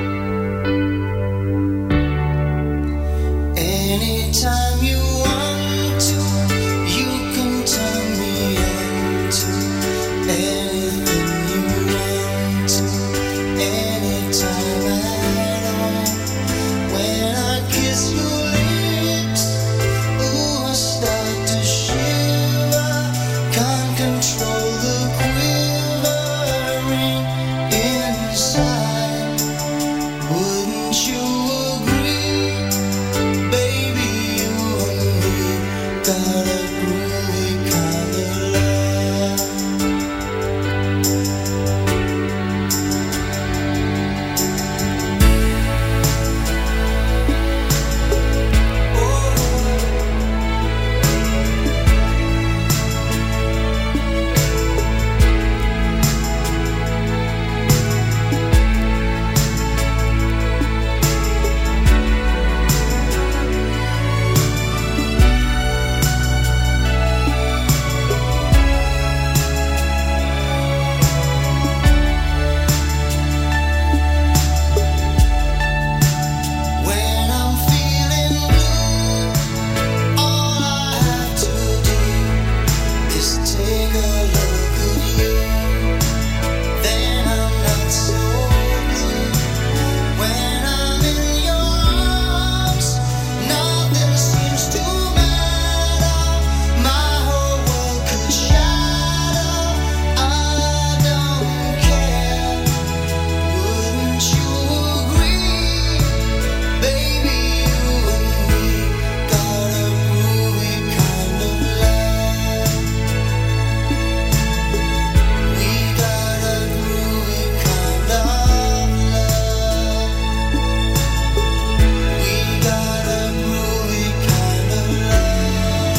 Anytime you want to, you can turn me on to anything you want to, anytime at all. When I kiss your lips, ooh, I start to shiver. Can't control the quivering inside. Wouldn't you agree? Baby, you and me got a groovy kind of love. When I'm feeling blue, all I have to do is take a look at you. Then I'm not so blue. When I'm in your arms, nothing seems to matter. My whole world could shatter. I don't care. Wouldn't you agree? Baby, you and me got a groovy kind of love. We got a groovy kind of love. We got a groovy kind of love.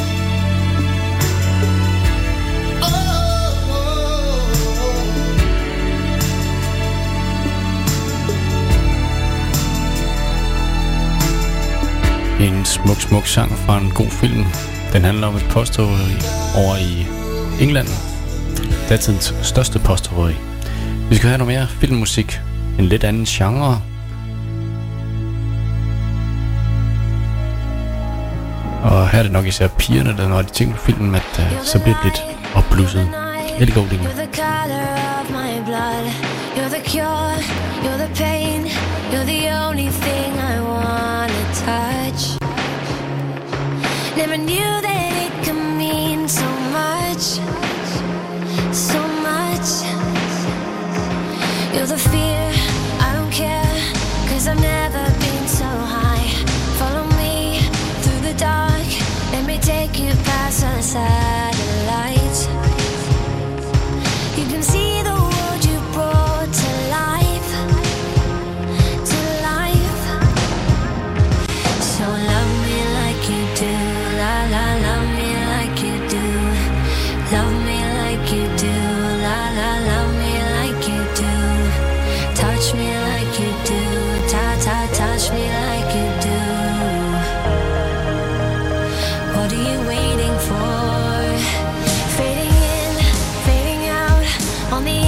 En smuk sang fra en god film. Den handler om et postrøveri over i England. Datidens største postrøveri. Vi skal have noget mere filmmusik. En lidt anden genre. Og her er det nok især pigerne, der når de tænker på filmen, at så bliver det lidt opblusset. Rigtig god linje. You're the color of my blood. You're the cure. You're the pain. You're the only thing I wanna touch. Never knew that it could mean so much. So much. You're the fear. I don't care. 'Cause I've never been so high. Follow me through the dark. Let me take you past the satellites. You can see the world you brought to life. To life. So love me like you do. La la, love me like you do. Love me like you do. La la, love me like you do. Touch me like you do. Ta ta, touch me like you do. What are you waiting for? Fading in, fading out on the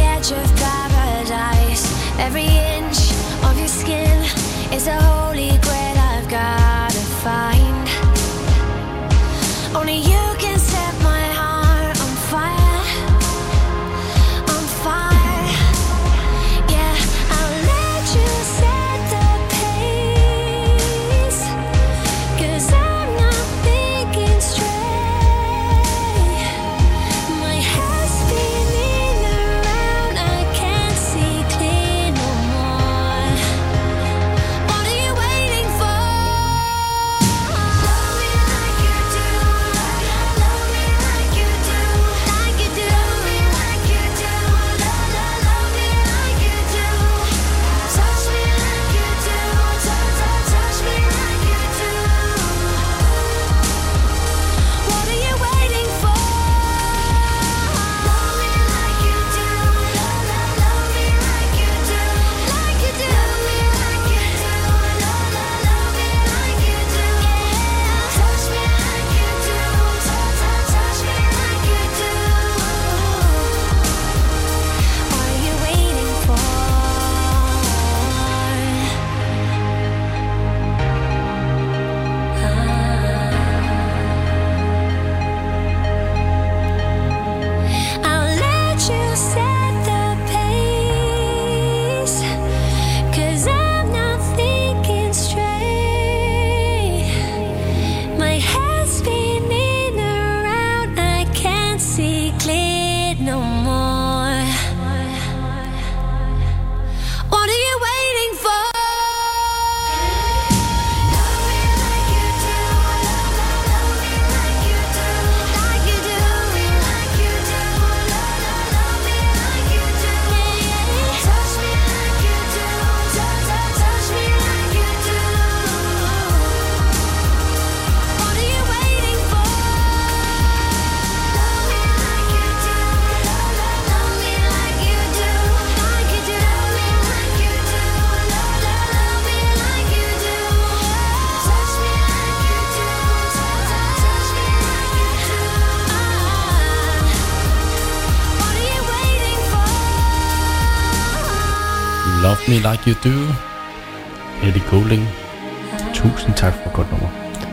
Love Me Like You Do. Ellie Goulding. Tusind tak for godt nummer.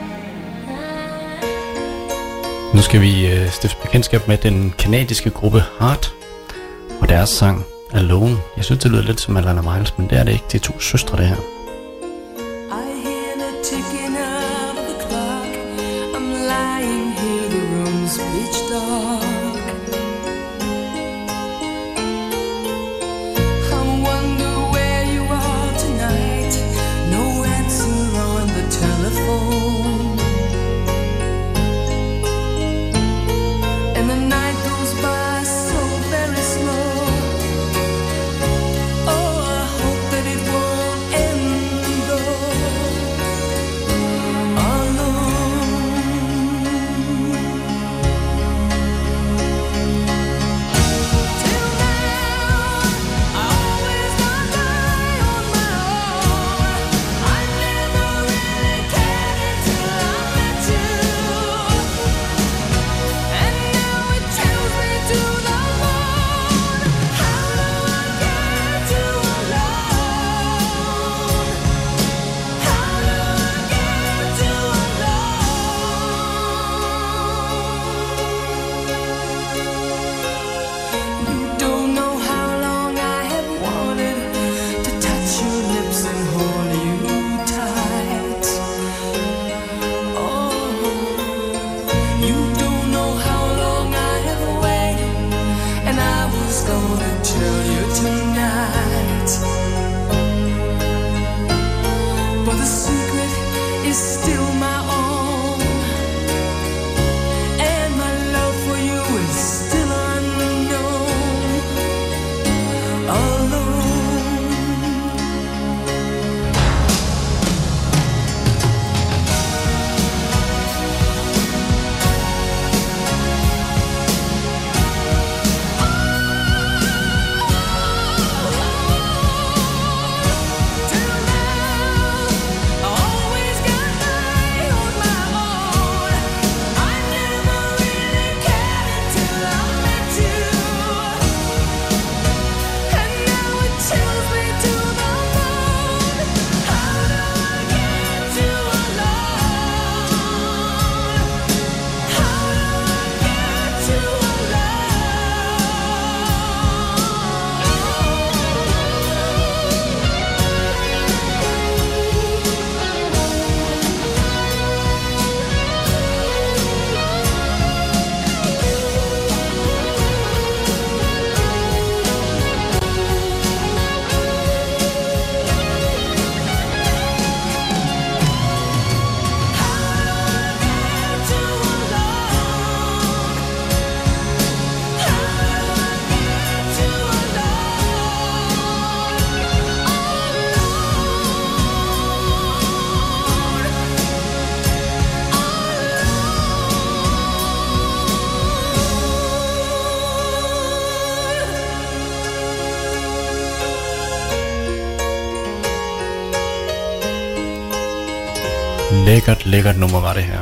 Nu skal vi stifte bekendtskab med den kanadiske gruppe Heart og deres sang Alone. Jeg synes det lyder lidt som Alana Miles, men det er det ikke. Det er to søstre det her. Lækkert nummer var det her.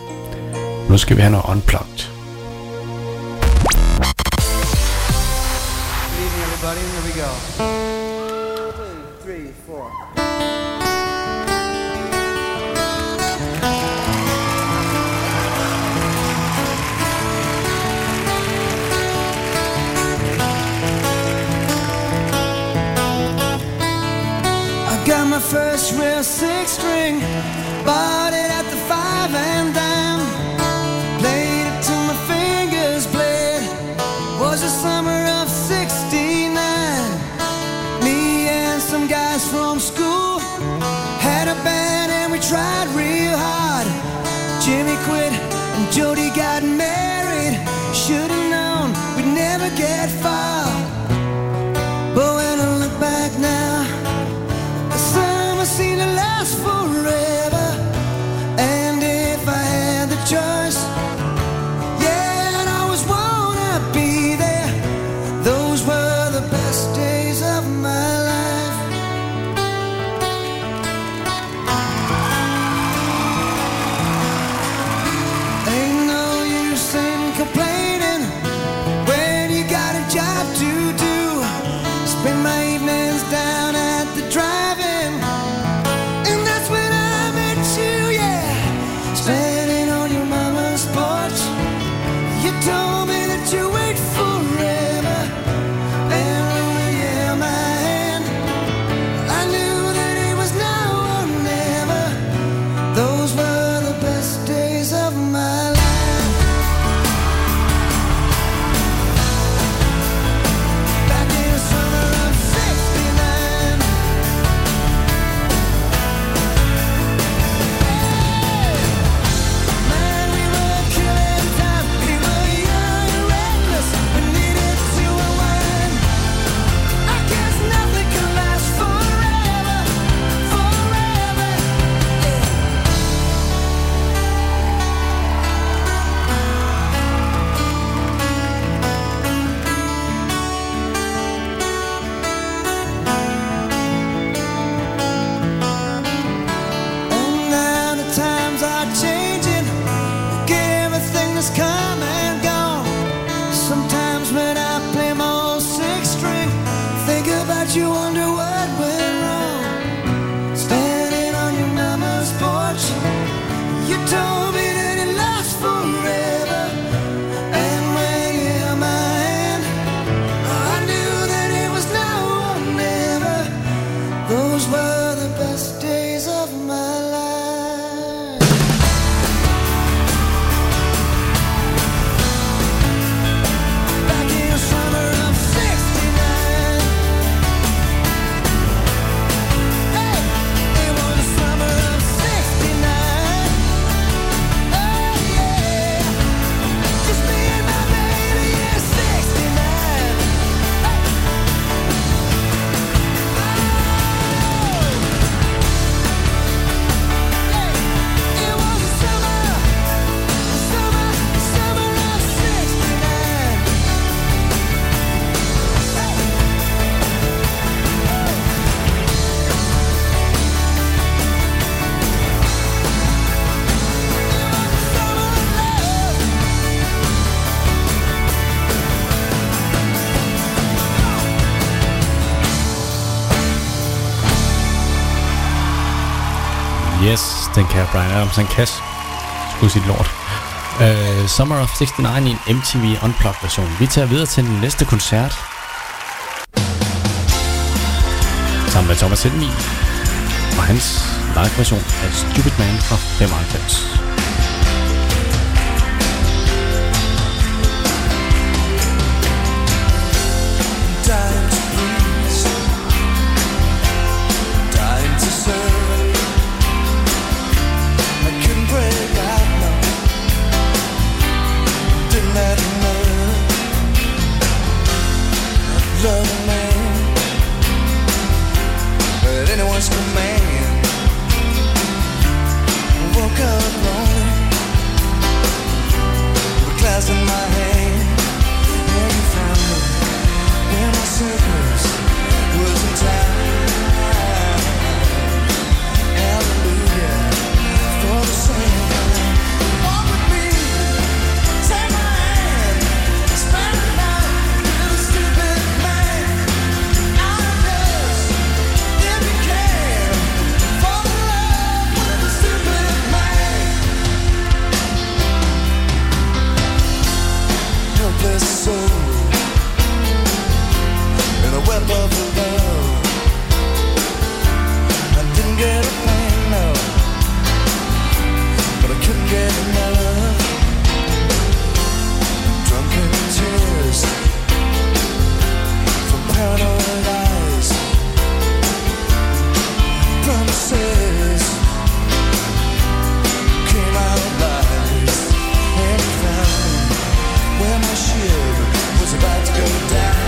Nu skal vi have noget unplugged. Good evening, everybody. Here we go. 2, 3, 4. I got my first real 6-string. Bought it at the 5 and dime. Played it till my fingers bled. Was the summer of '69. Me and some guys from school had a band and we tried real hard. Jimmy quit and Jody got married. Should've known we'd never get far. But when I look back now, the summer seemed to last forever. And if I had the choice, yeah, I'd always wanna be there. Those were the best days of my life. Ain't no use in complaining when you got a job to has come and gone. Sometimes when I play my old six string, think about you, wonder what went wrong. Standing on your mama's porch, you told me that it lasts forever. And when you held my hand, I knew that it was now or never. Those were the best days of my life. Back in the summer of '69. Hey, it was the summer of '69. Oh yeah, just me and my baby, yeah, '69. It was the summer of '69. Yes, den kan Bryan Adams, han kan sgu sit lort. Summer of '69 i en MTV Unplugged version. Vi tager videre til den næste koncert. Sammen med Thomas Helmig og hans live version af Stupid Man fra 95. Time to breathe, time to serve. I couldn't break out, no. Didn't have enough. Love a man at anyone's command. Woke up lonely with glass in my hand. And you found me when my circus was in town. Hallelujah for the same. Walk with me, take my hand, spend the night with a stupid man. Out of dust, if you can, fall in love with a stupid man. Helpless soul in a web of love. I didn't get a plan, no, but I couldn't get enough. Drunken tears from paranoid eyes. Promises came out of lies. And you found me where my ship was about to go down.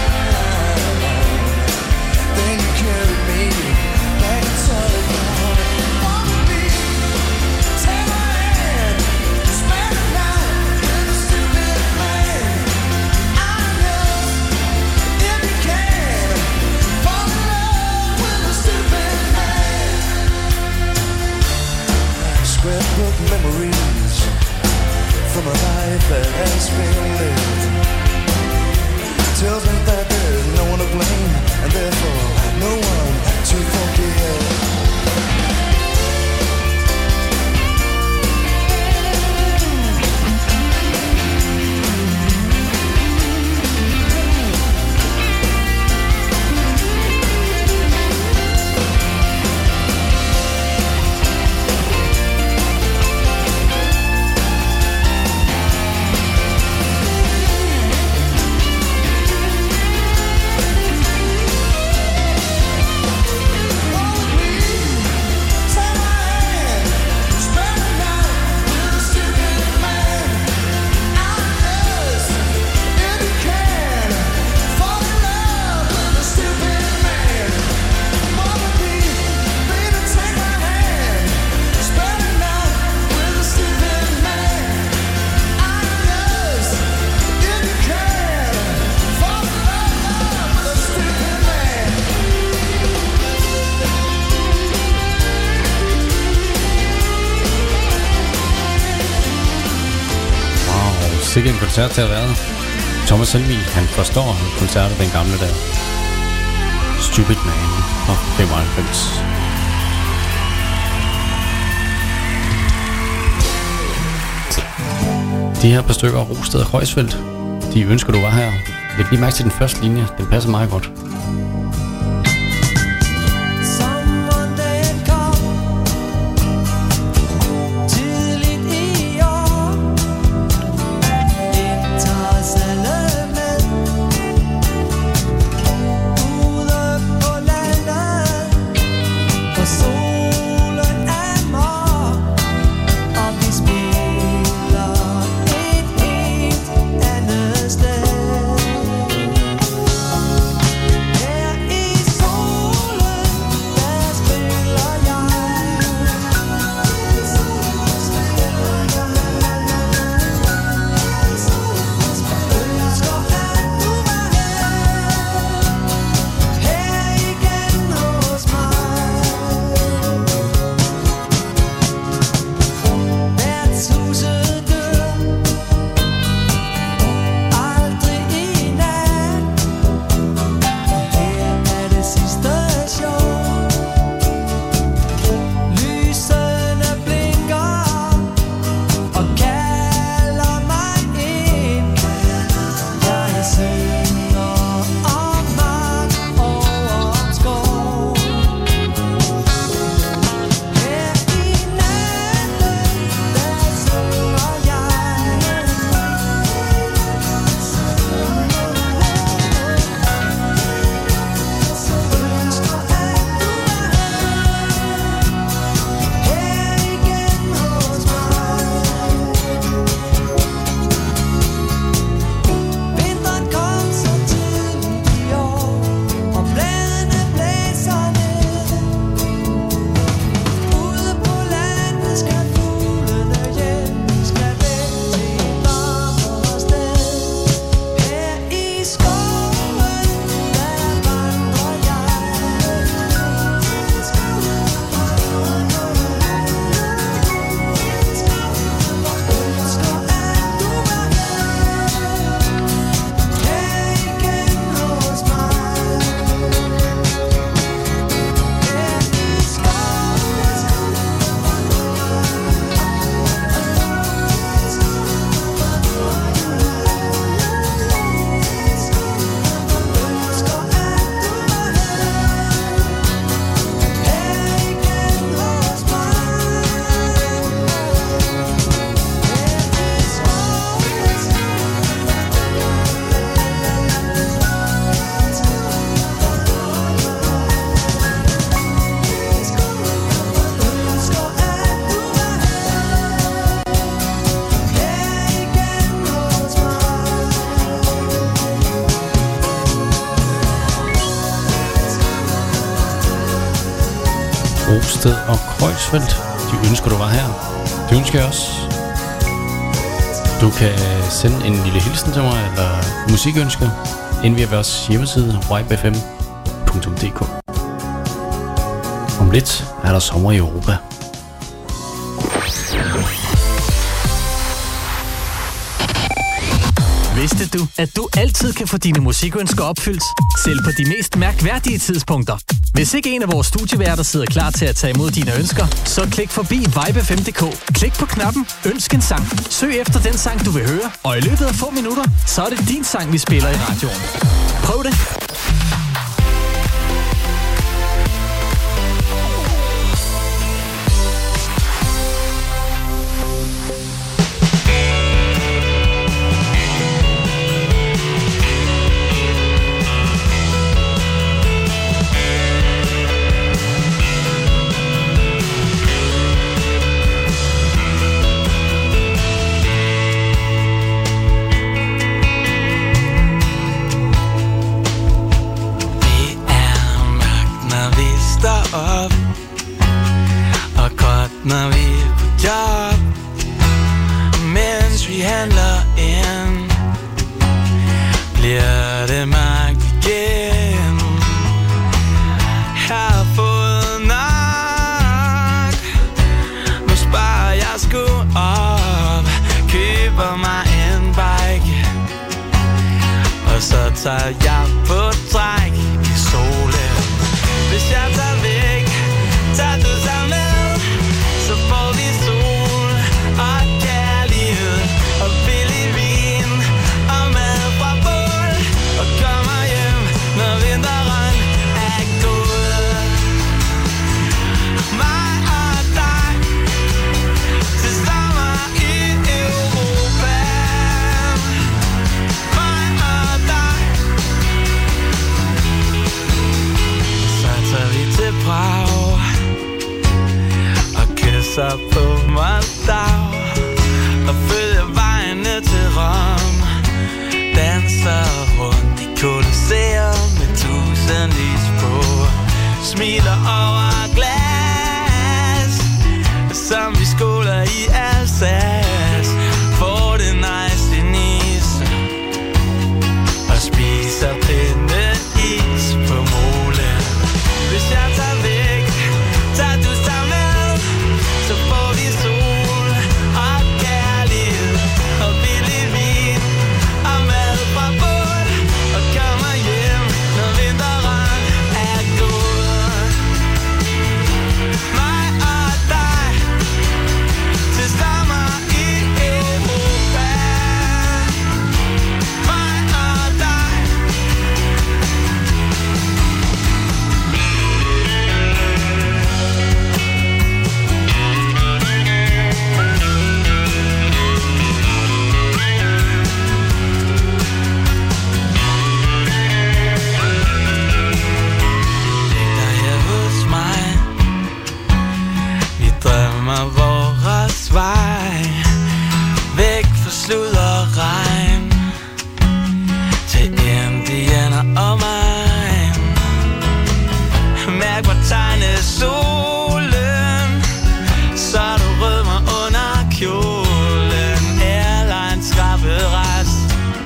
Then you carried me back to Telegram. Walk with me, take my hand, spend the night with a stupid man. I know if you can, fall in love with a stupid man. Scrapbook memories from a life that has been lived tells me that there's no one to blame, and therefore no one to forgive. Sikke en koncert til at være. Thomas Helmig, han forstår koncerter den gamle der. Stupid Man fra 95. De her par stykker Rosted og Kreuzfeldt, de ønsker du var her. Læg lige mærke til den første linje, den passer meget godt. Rosted og Kreuzfeldt, de ønsker du var her. Det ønsker jeg også. Du kan sende en lille hilsen til mig, eller musikønsker, ind via vores hjemmeside, wibefm.dk. Om lidt er der sommer i Europa. Vidste du, at du altid kan få dine musikønsker opfyldt, selv på de mest mærkværdige tidspunkter? Hvis ikke en af vores studieværter sidder klar til at tage imod dine ønsker, så klik forbi vibefm.dk. Klik på knappen Ønsk en sang. Søg efter den sang, du vil høre, og i løbet af få minutter, så er det din sang, vi spiller i radioen. Prøv det! Når vi er på job, mens vi handler ind, bliver det magt igen. Har fået nok, nu sparer jeg sgu op, køber mig en bar. Og så tager jeg på træk i solen. Hvis jeg tager væk, tager du sig med, så får vi sol og kærlighed og billig vin og mad fra bål. Og kommer hjem, når vinteren er gået. Mig og dig til sommer i Europa. Mig og dig. Så tager vi til Prag og kysser på Moldau og følger vejen ned til Rom. Danser rundt i Colosseum med tusindvis på. Smiler over glas, som vi skåler i Alsace. Får det nice i Nice og spiser pindeis på molen. Hvis jeg tager væk, tager du sig med, så får vi sol og kærlighed og billig vin og mad fra bål. Og kommer hjem, når vinteren er gået. Mig og dig til sommer i Europa. Mig og dig. Læg dig her hos mig. Vi drømmer vores vej væk fra slud og regn til indianer og mig. Mærk hvor tegnet solen, så du rødmer under kjolen. Airlines skrabet rest,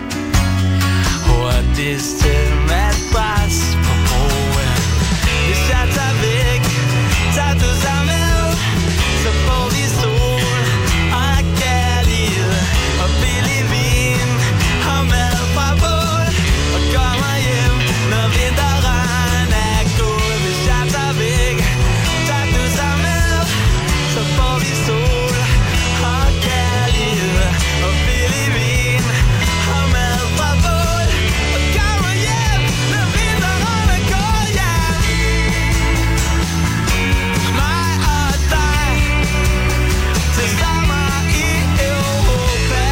hurtigst til madras på broen. Hvis jeg tager væk, tager du sig med, så får vi sol og kærlighed og billig vin og mad fra bål. Og kommer hjem, når vinteren er gået. Hvis jeg tager væk, tager du sig med, så får vi sol og kærlighed og billig vin og mad fra bål. Og kommer hjem, når vinteren er gået, ja. Mig og dig til sommer i Europa.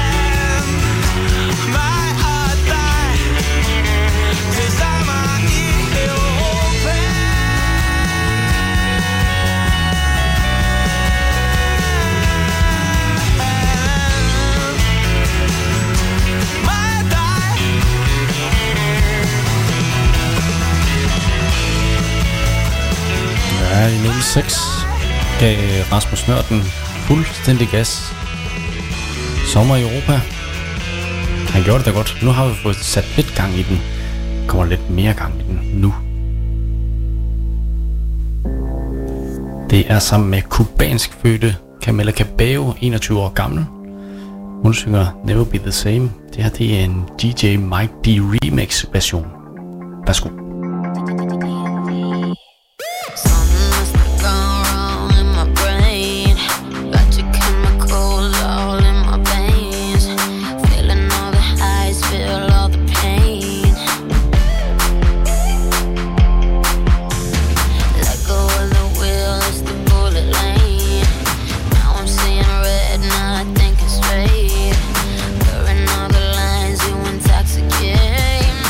Mig og dig til sommer i Europa. Mig og dig. Ja, i 06 gav Rasmus Nørden fuldstændig gas. Sommer i Europa. Han gjorde det da godt. Nu har vi fået sat lidt gang i den. Kommer lidt mere gang i den nu. Det er sammen med kubansk fødte Camila Cabello, 21 år gammel. Hun synger Never Be The Same. Det her det er en DJ Mike D remix version. Værsgo. Something must have gone wrong in my brain. Got your chemicals all in my veins. Feeling all the highs, feel all the pain. Let go of the wheel, it's the bullet lane. Now I'm seeing red, not thinking straight. Blurring all the lines, you intoxicate me.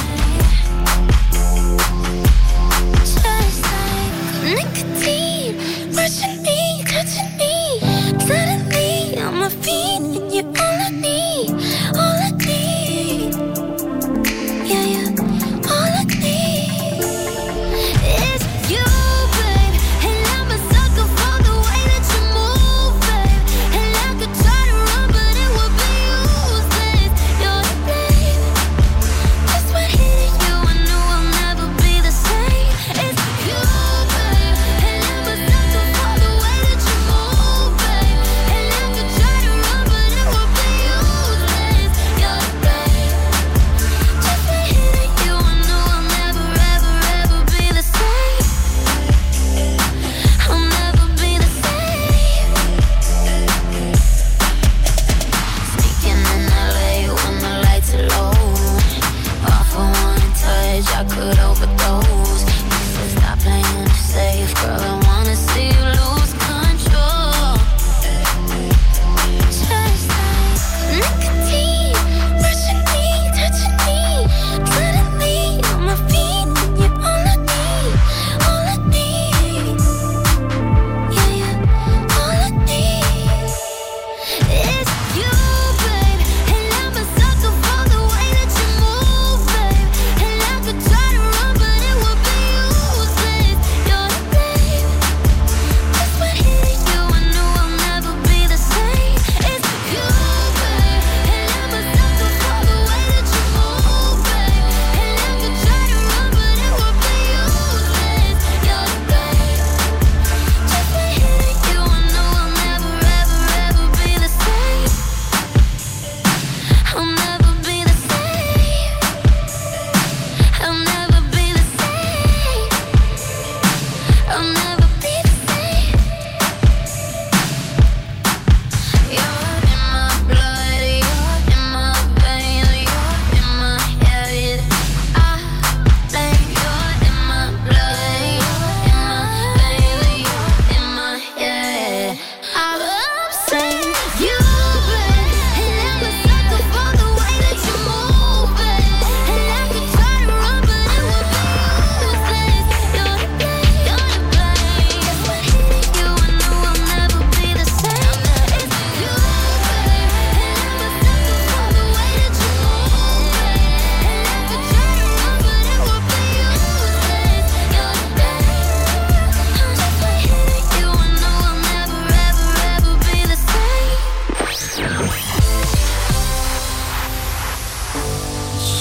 Just like nicotine, rushing me, touching me. Suddenly on my feet, and you're all I need, all I need. Yeah, yeah, all I need is you, babe. And I'm a sucker for the way that you move, babe. And I could try to run, but it would be useless. You're the babe. Just when hitting you, I knew I'll never be the same. It's you, babe. And I'm a sucker for the way that you move, babe. And I could try to run, but it would be useless.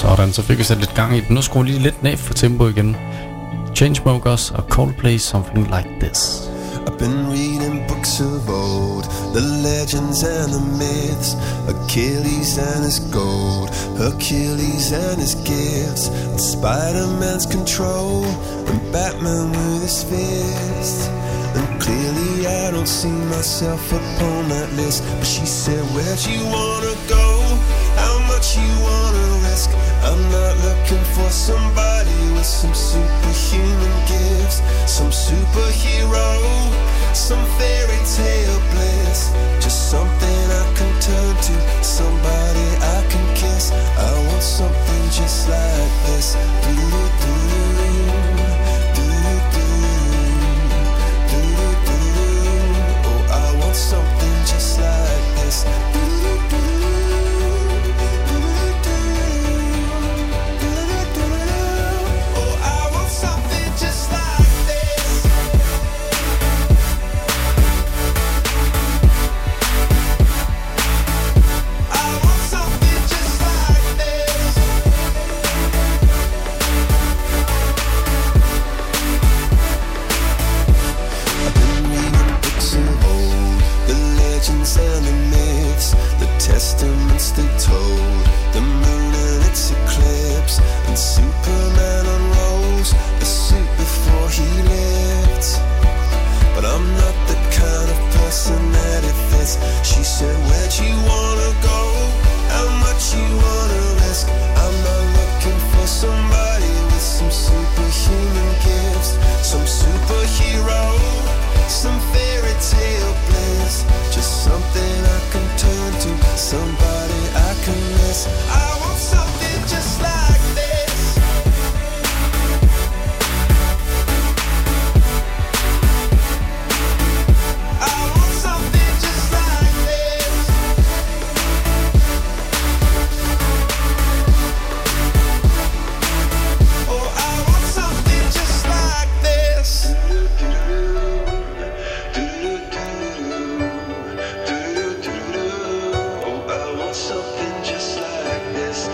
Sådan, så fik vi sat lidt gang i den. Nu skruer lige lidt ned for tempo igen. Chainsmokers og Coldplay, Something Like This. I've been reading books of old, the legends and the myths, Achilles and his gold, Hercules and his gifts, and Spider-Man's control, and Batman with his fist. And clearly I don't see myself upon that list. But she said, where'd you wanna go? How much you wanna risk? I'm not looking for somebody with some superhuman gifts, some superhero, some fairy tale bliss. Just something I can turn to, somebody I can kiss. I want something just like this. Something just like this. Oh, I want something just like this. I want something just like this. I've been reading books of old, the legends and the myths, the testaments they told, the moon and its eclipse, and Superman unrolls the suit before he lived. But I'm not the kind of person that it fits. She said, where'd you wanna go? How much you wanna risk? I'm not looking for somebody with some superhuman gifts, some superhero, some fairy tale bliss. Just something I can turn to, somebody I can miss. I want something just like this. I want something just like this. Oh, I want something just like this. Something just like this.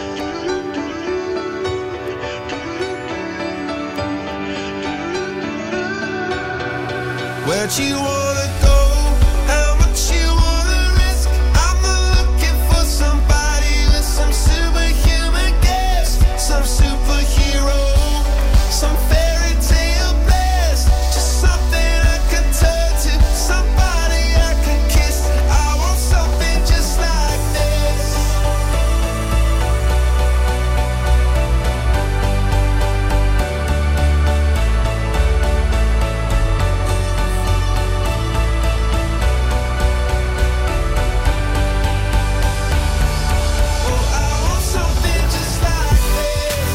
Where'd you wanna go? How much you wanna risk? I'm not looking for somebody with some superhuman gifts, some superhero, some fairy tale bliss. Just something I can turn to, somebody I can kiss. I want something just like this. Oh, I want something just like this.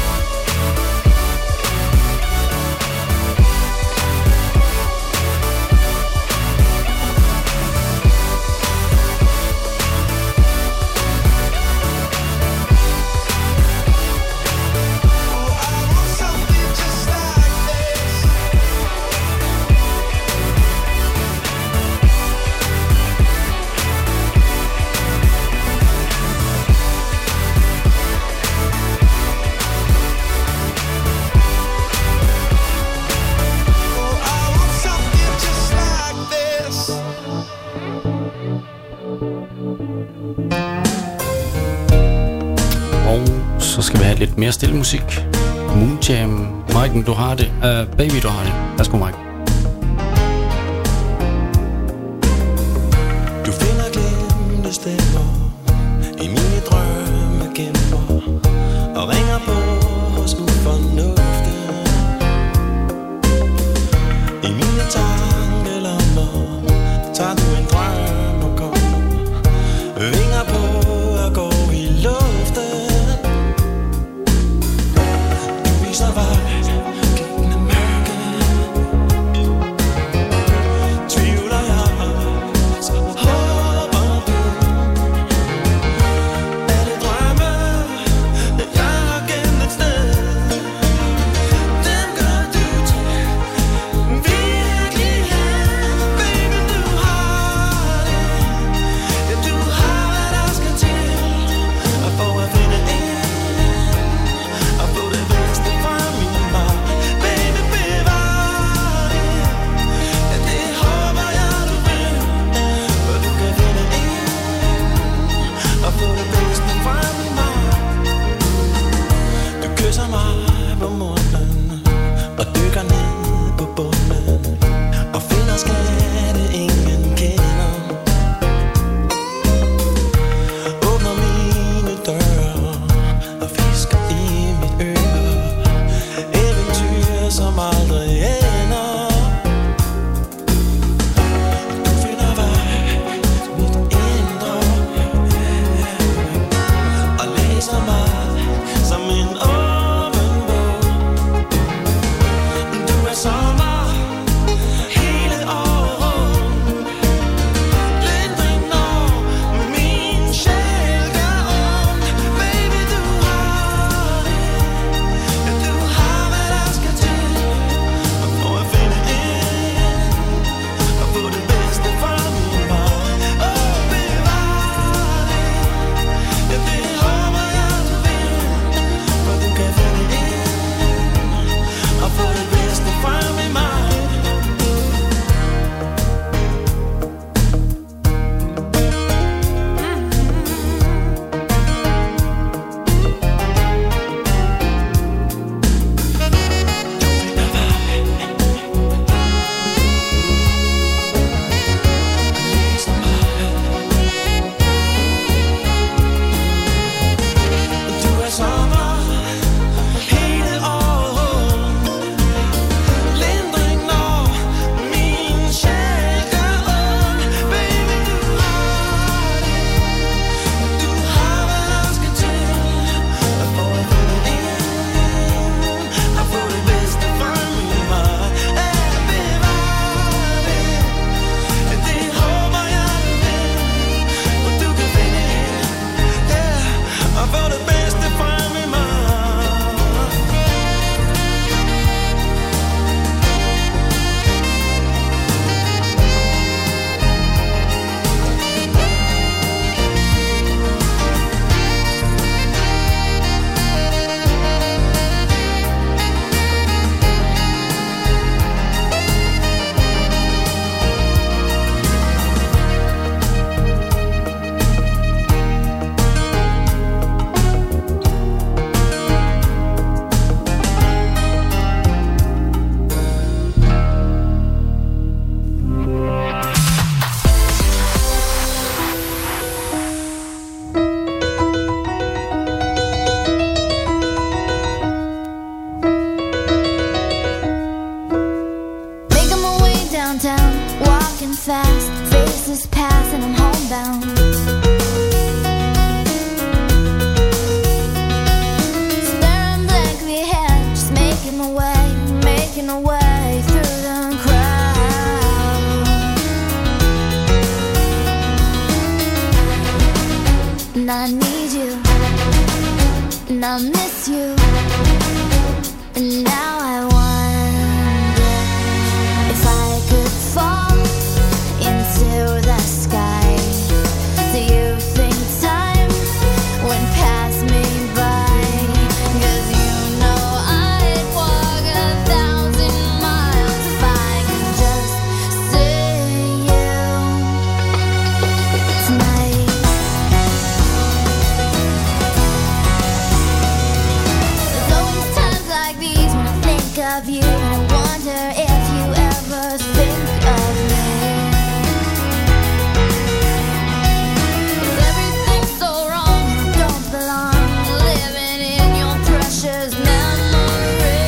Oh, I want something just like this. Oh, I want something just like this. Og så skal vi have lidt mere stille musik. Moonjam. Mike'en, du har det. Baby, du har det. Værsgo, Mike. Du finder glemte stemmer i mine drømme gemmer og ringer på hos ufornuften. I mine tankelommer tager du en drøm og kommer, vinger på og går i luften. Du viser vej gennem mørket, and I need you, and I miss you, and now I wonder if I could fall into the sky. Do you think time would pass me by? 'Cause you know I'd walk 1,000 miles if I could just see you tonight. There's always times like these when I think of you, and I wonder if you ever think of me. 'Cause everything's so wrong and I don't belong living in your precious memory.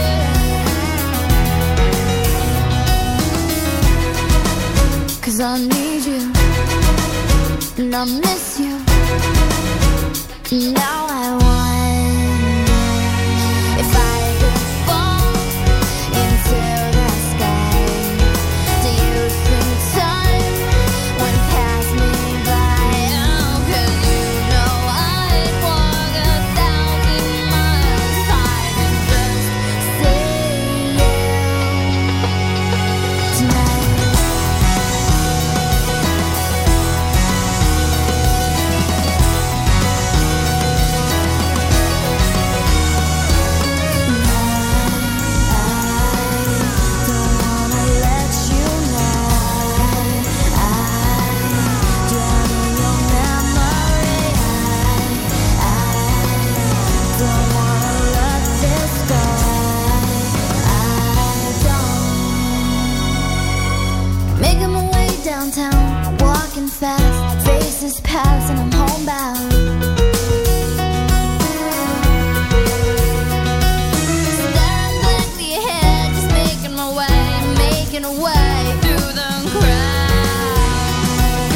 'Cause I need you, and I miss you, and now I wonder if I could fall into the sky. Do you think time would pass me by? Oh, 'cause you know I'd walk 1,000 miles if I could just see you tonight. Making my way downtown, walking fast, faces pass and I'm homebound. Staring blankly ahead, just making my way through the crowd.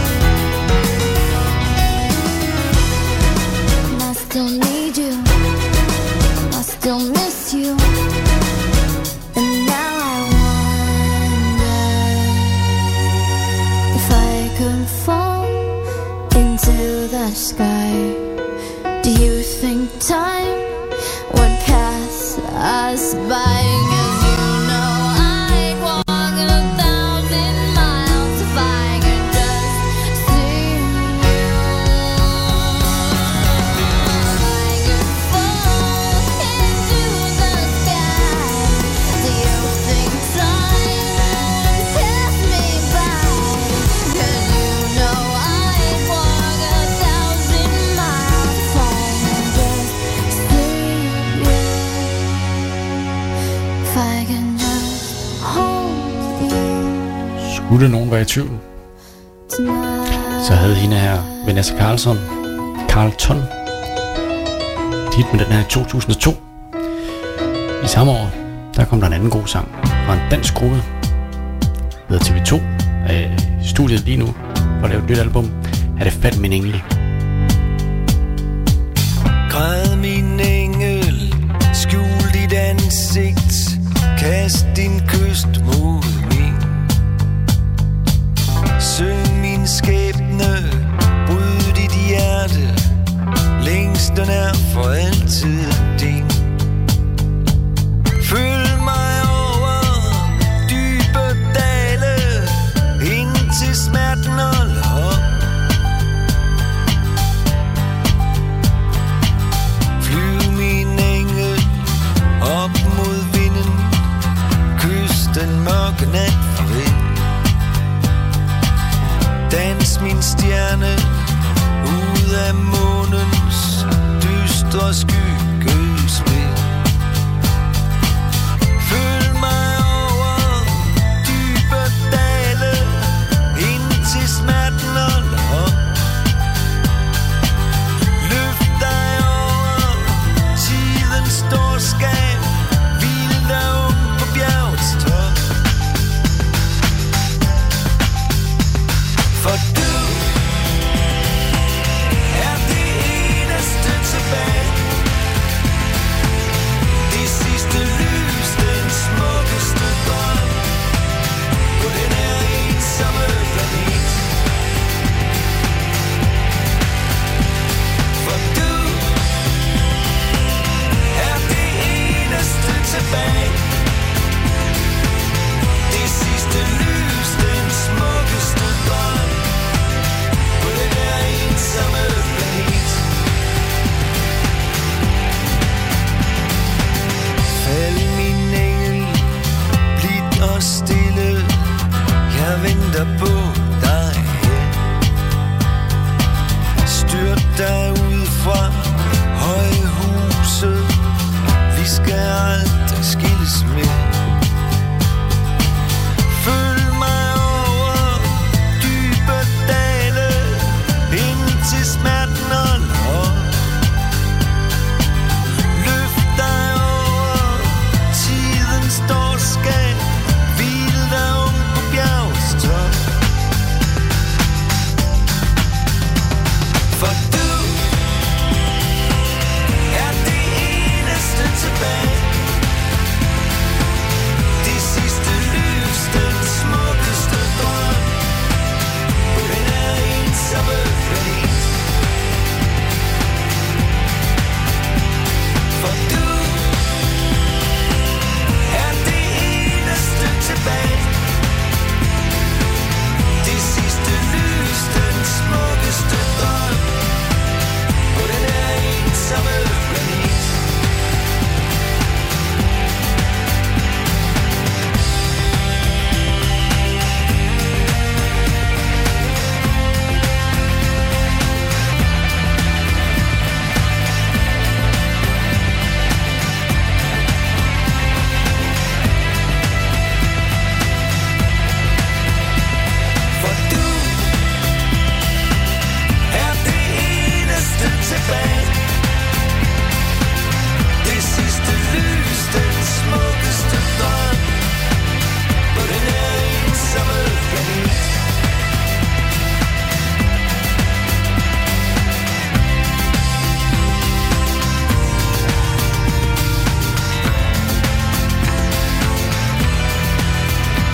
And I still need you, I still miss you, and now I wonder if I could fall into the sky. Do you think time would pass us by? 'Cause you know I'd walk 1,000 miles if I could just see you. I could fall into the sky. Do you think time would pass me by? 'Cause you know I'd walk 1,000 miles if I could just see you. If I can just hold you Skulle nogen være i tvivl, tonight. så havde hende her, Vanessa Carlton, et hit med den her i 2002. I samme år, der kom der en anden god sang fra en dansk gruppe, der hedder TV2, i studiet lige nu, for at lave et nyt album. Er det Fat min engel? Græd min engel, skjul dit ansigt, kast din kyst mod min. Syng min skæbne, bryd dit hjerte, længsten er for altid din. Følg mig over dybe dale, indtil smerten holder op. Flyv min engel op mod vinden, kys den mørke nat for vind. Dans min stjerne ud af månens dystre skyggespil. Følg mig over dybe dale, indtil smerten holder op. Løft dig over tidens storskab, hvil dig på bjergets top. For du er det eneste tilbage.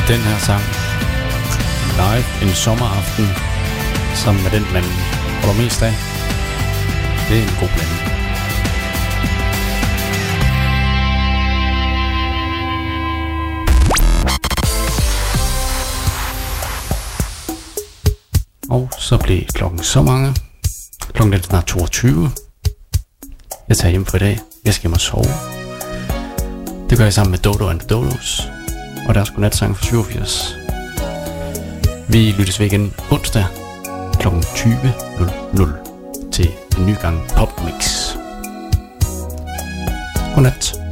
Den her sang live en sommeraften sammen med den man holder mest af. Det er en god blanding. Og så blev klokken så mange. Klokken er snart 22. Jeg tager hjem for i dag. Jeg skal hjem og sove. Det gør jeg sammen med Dodo and the Dodos. Og der er sgu natsang for 87. Vi lyttes ved igen onsdag kl. 20.00 til en ny gang Popmix. Godnat.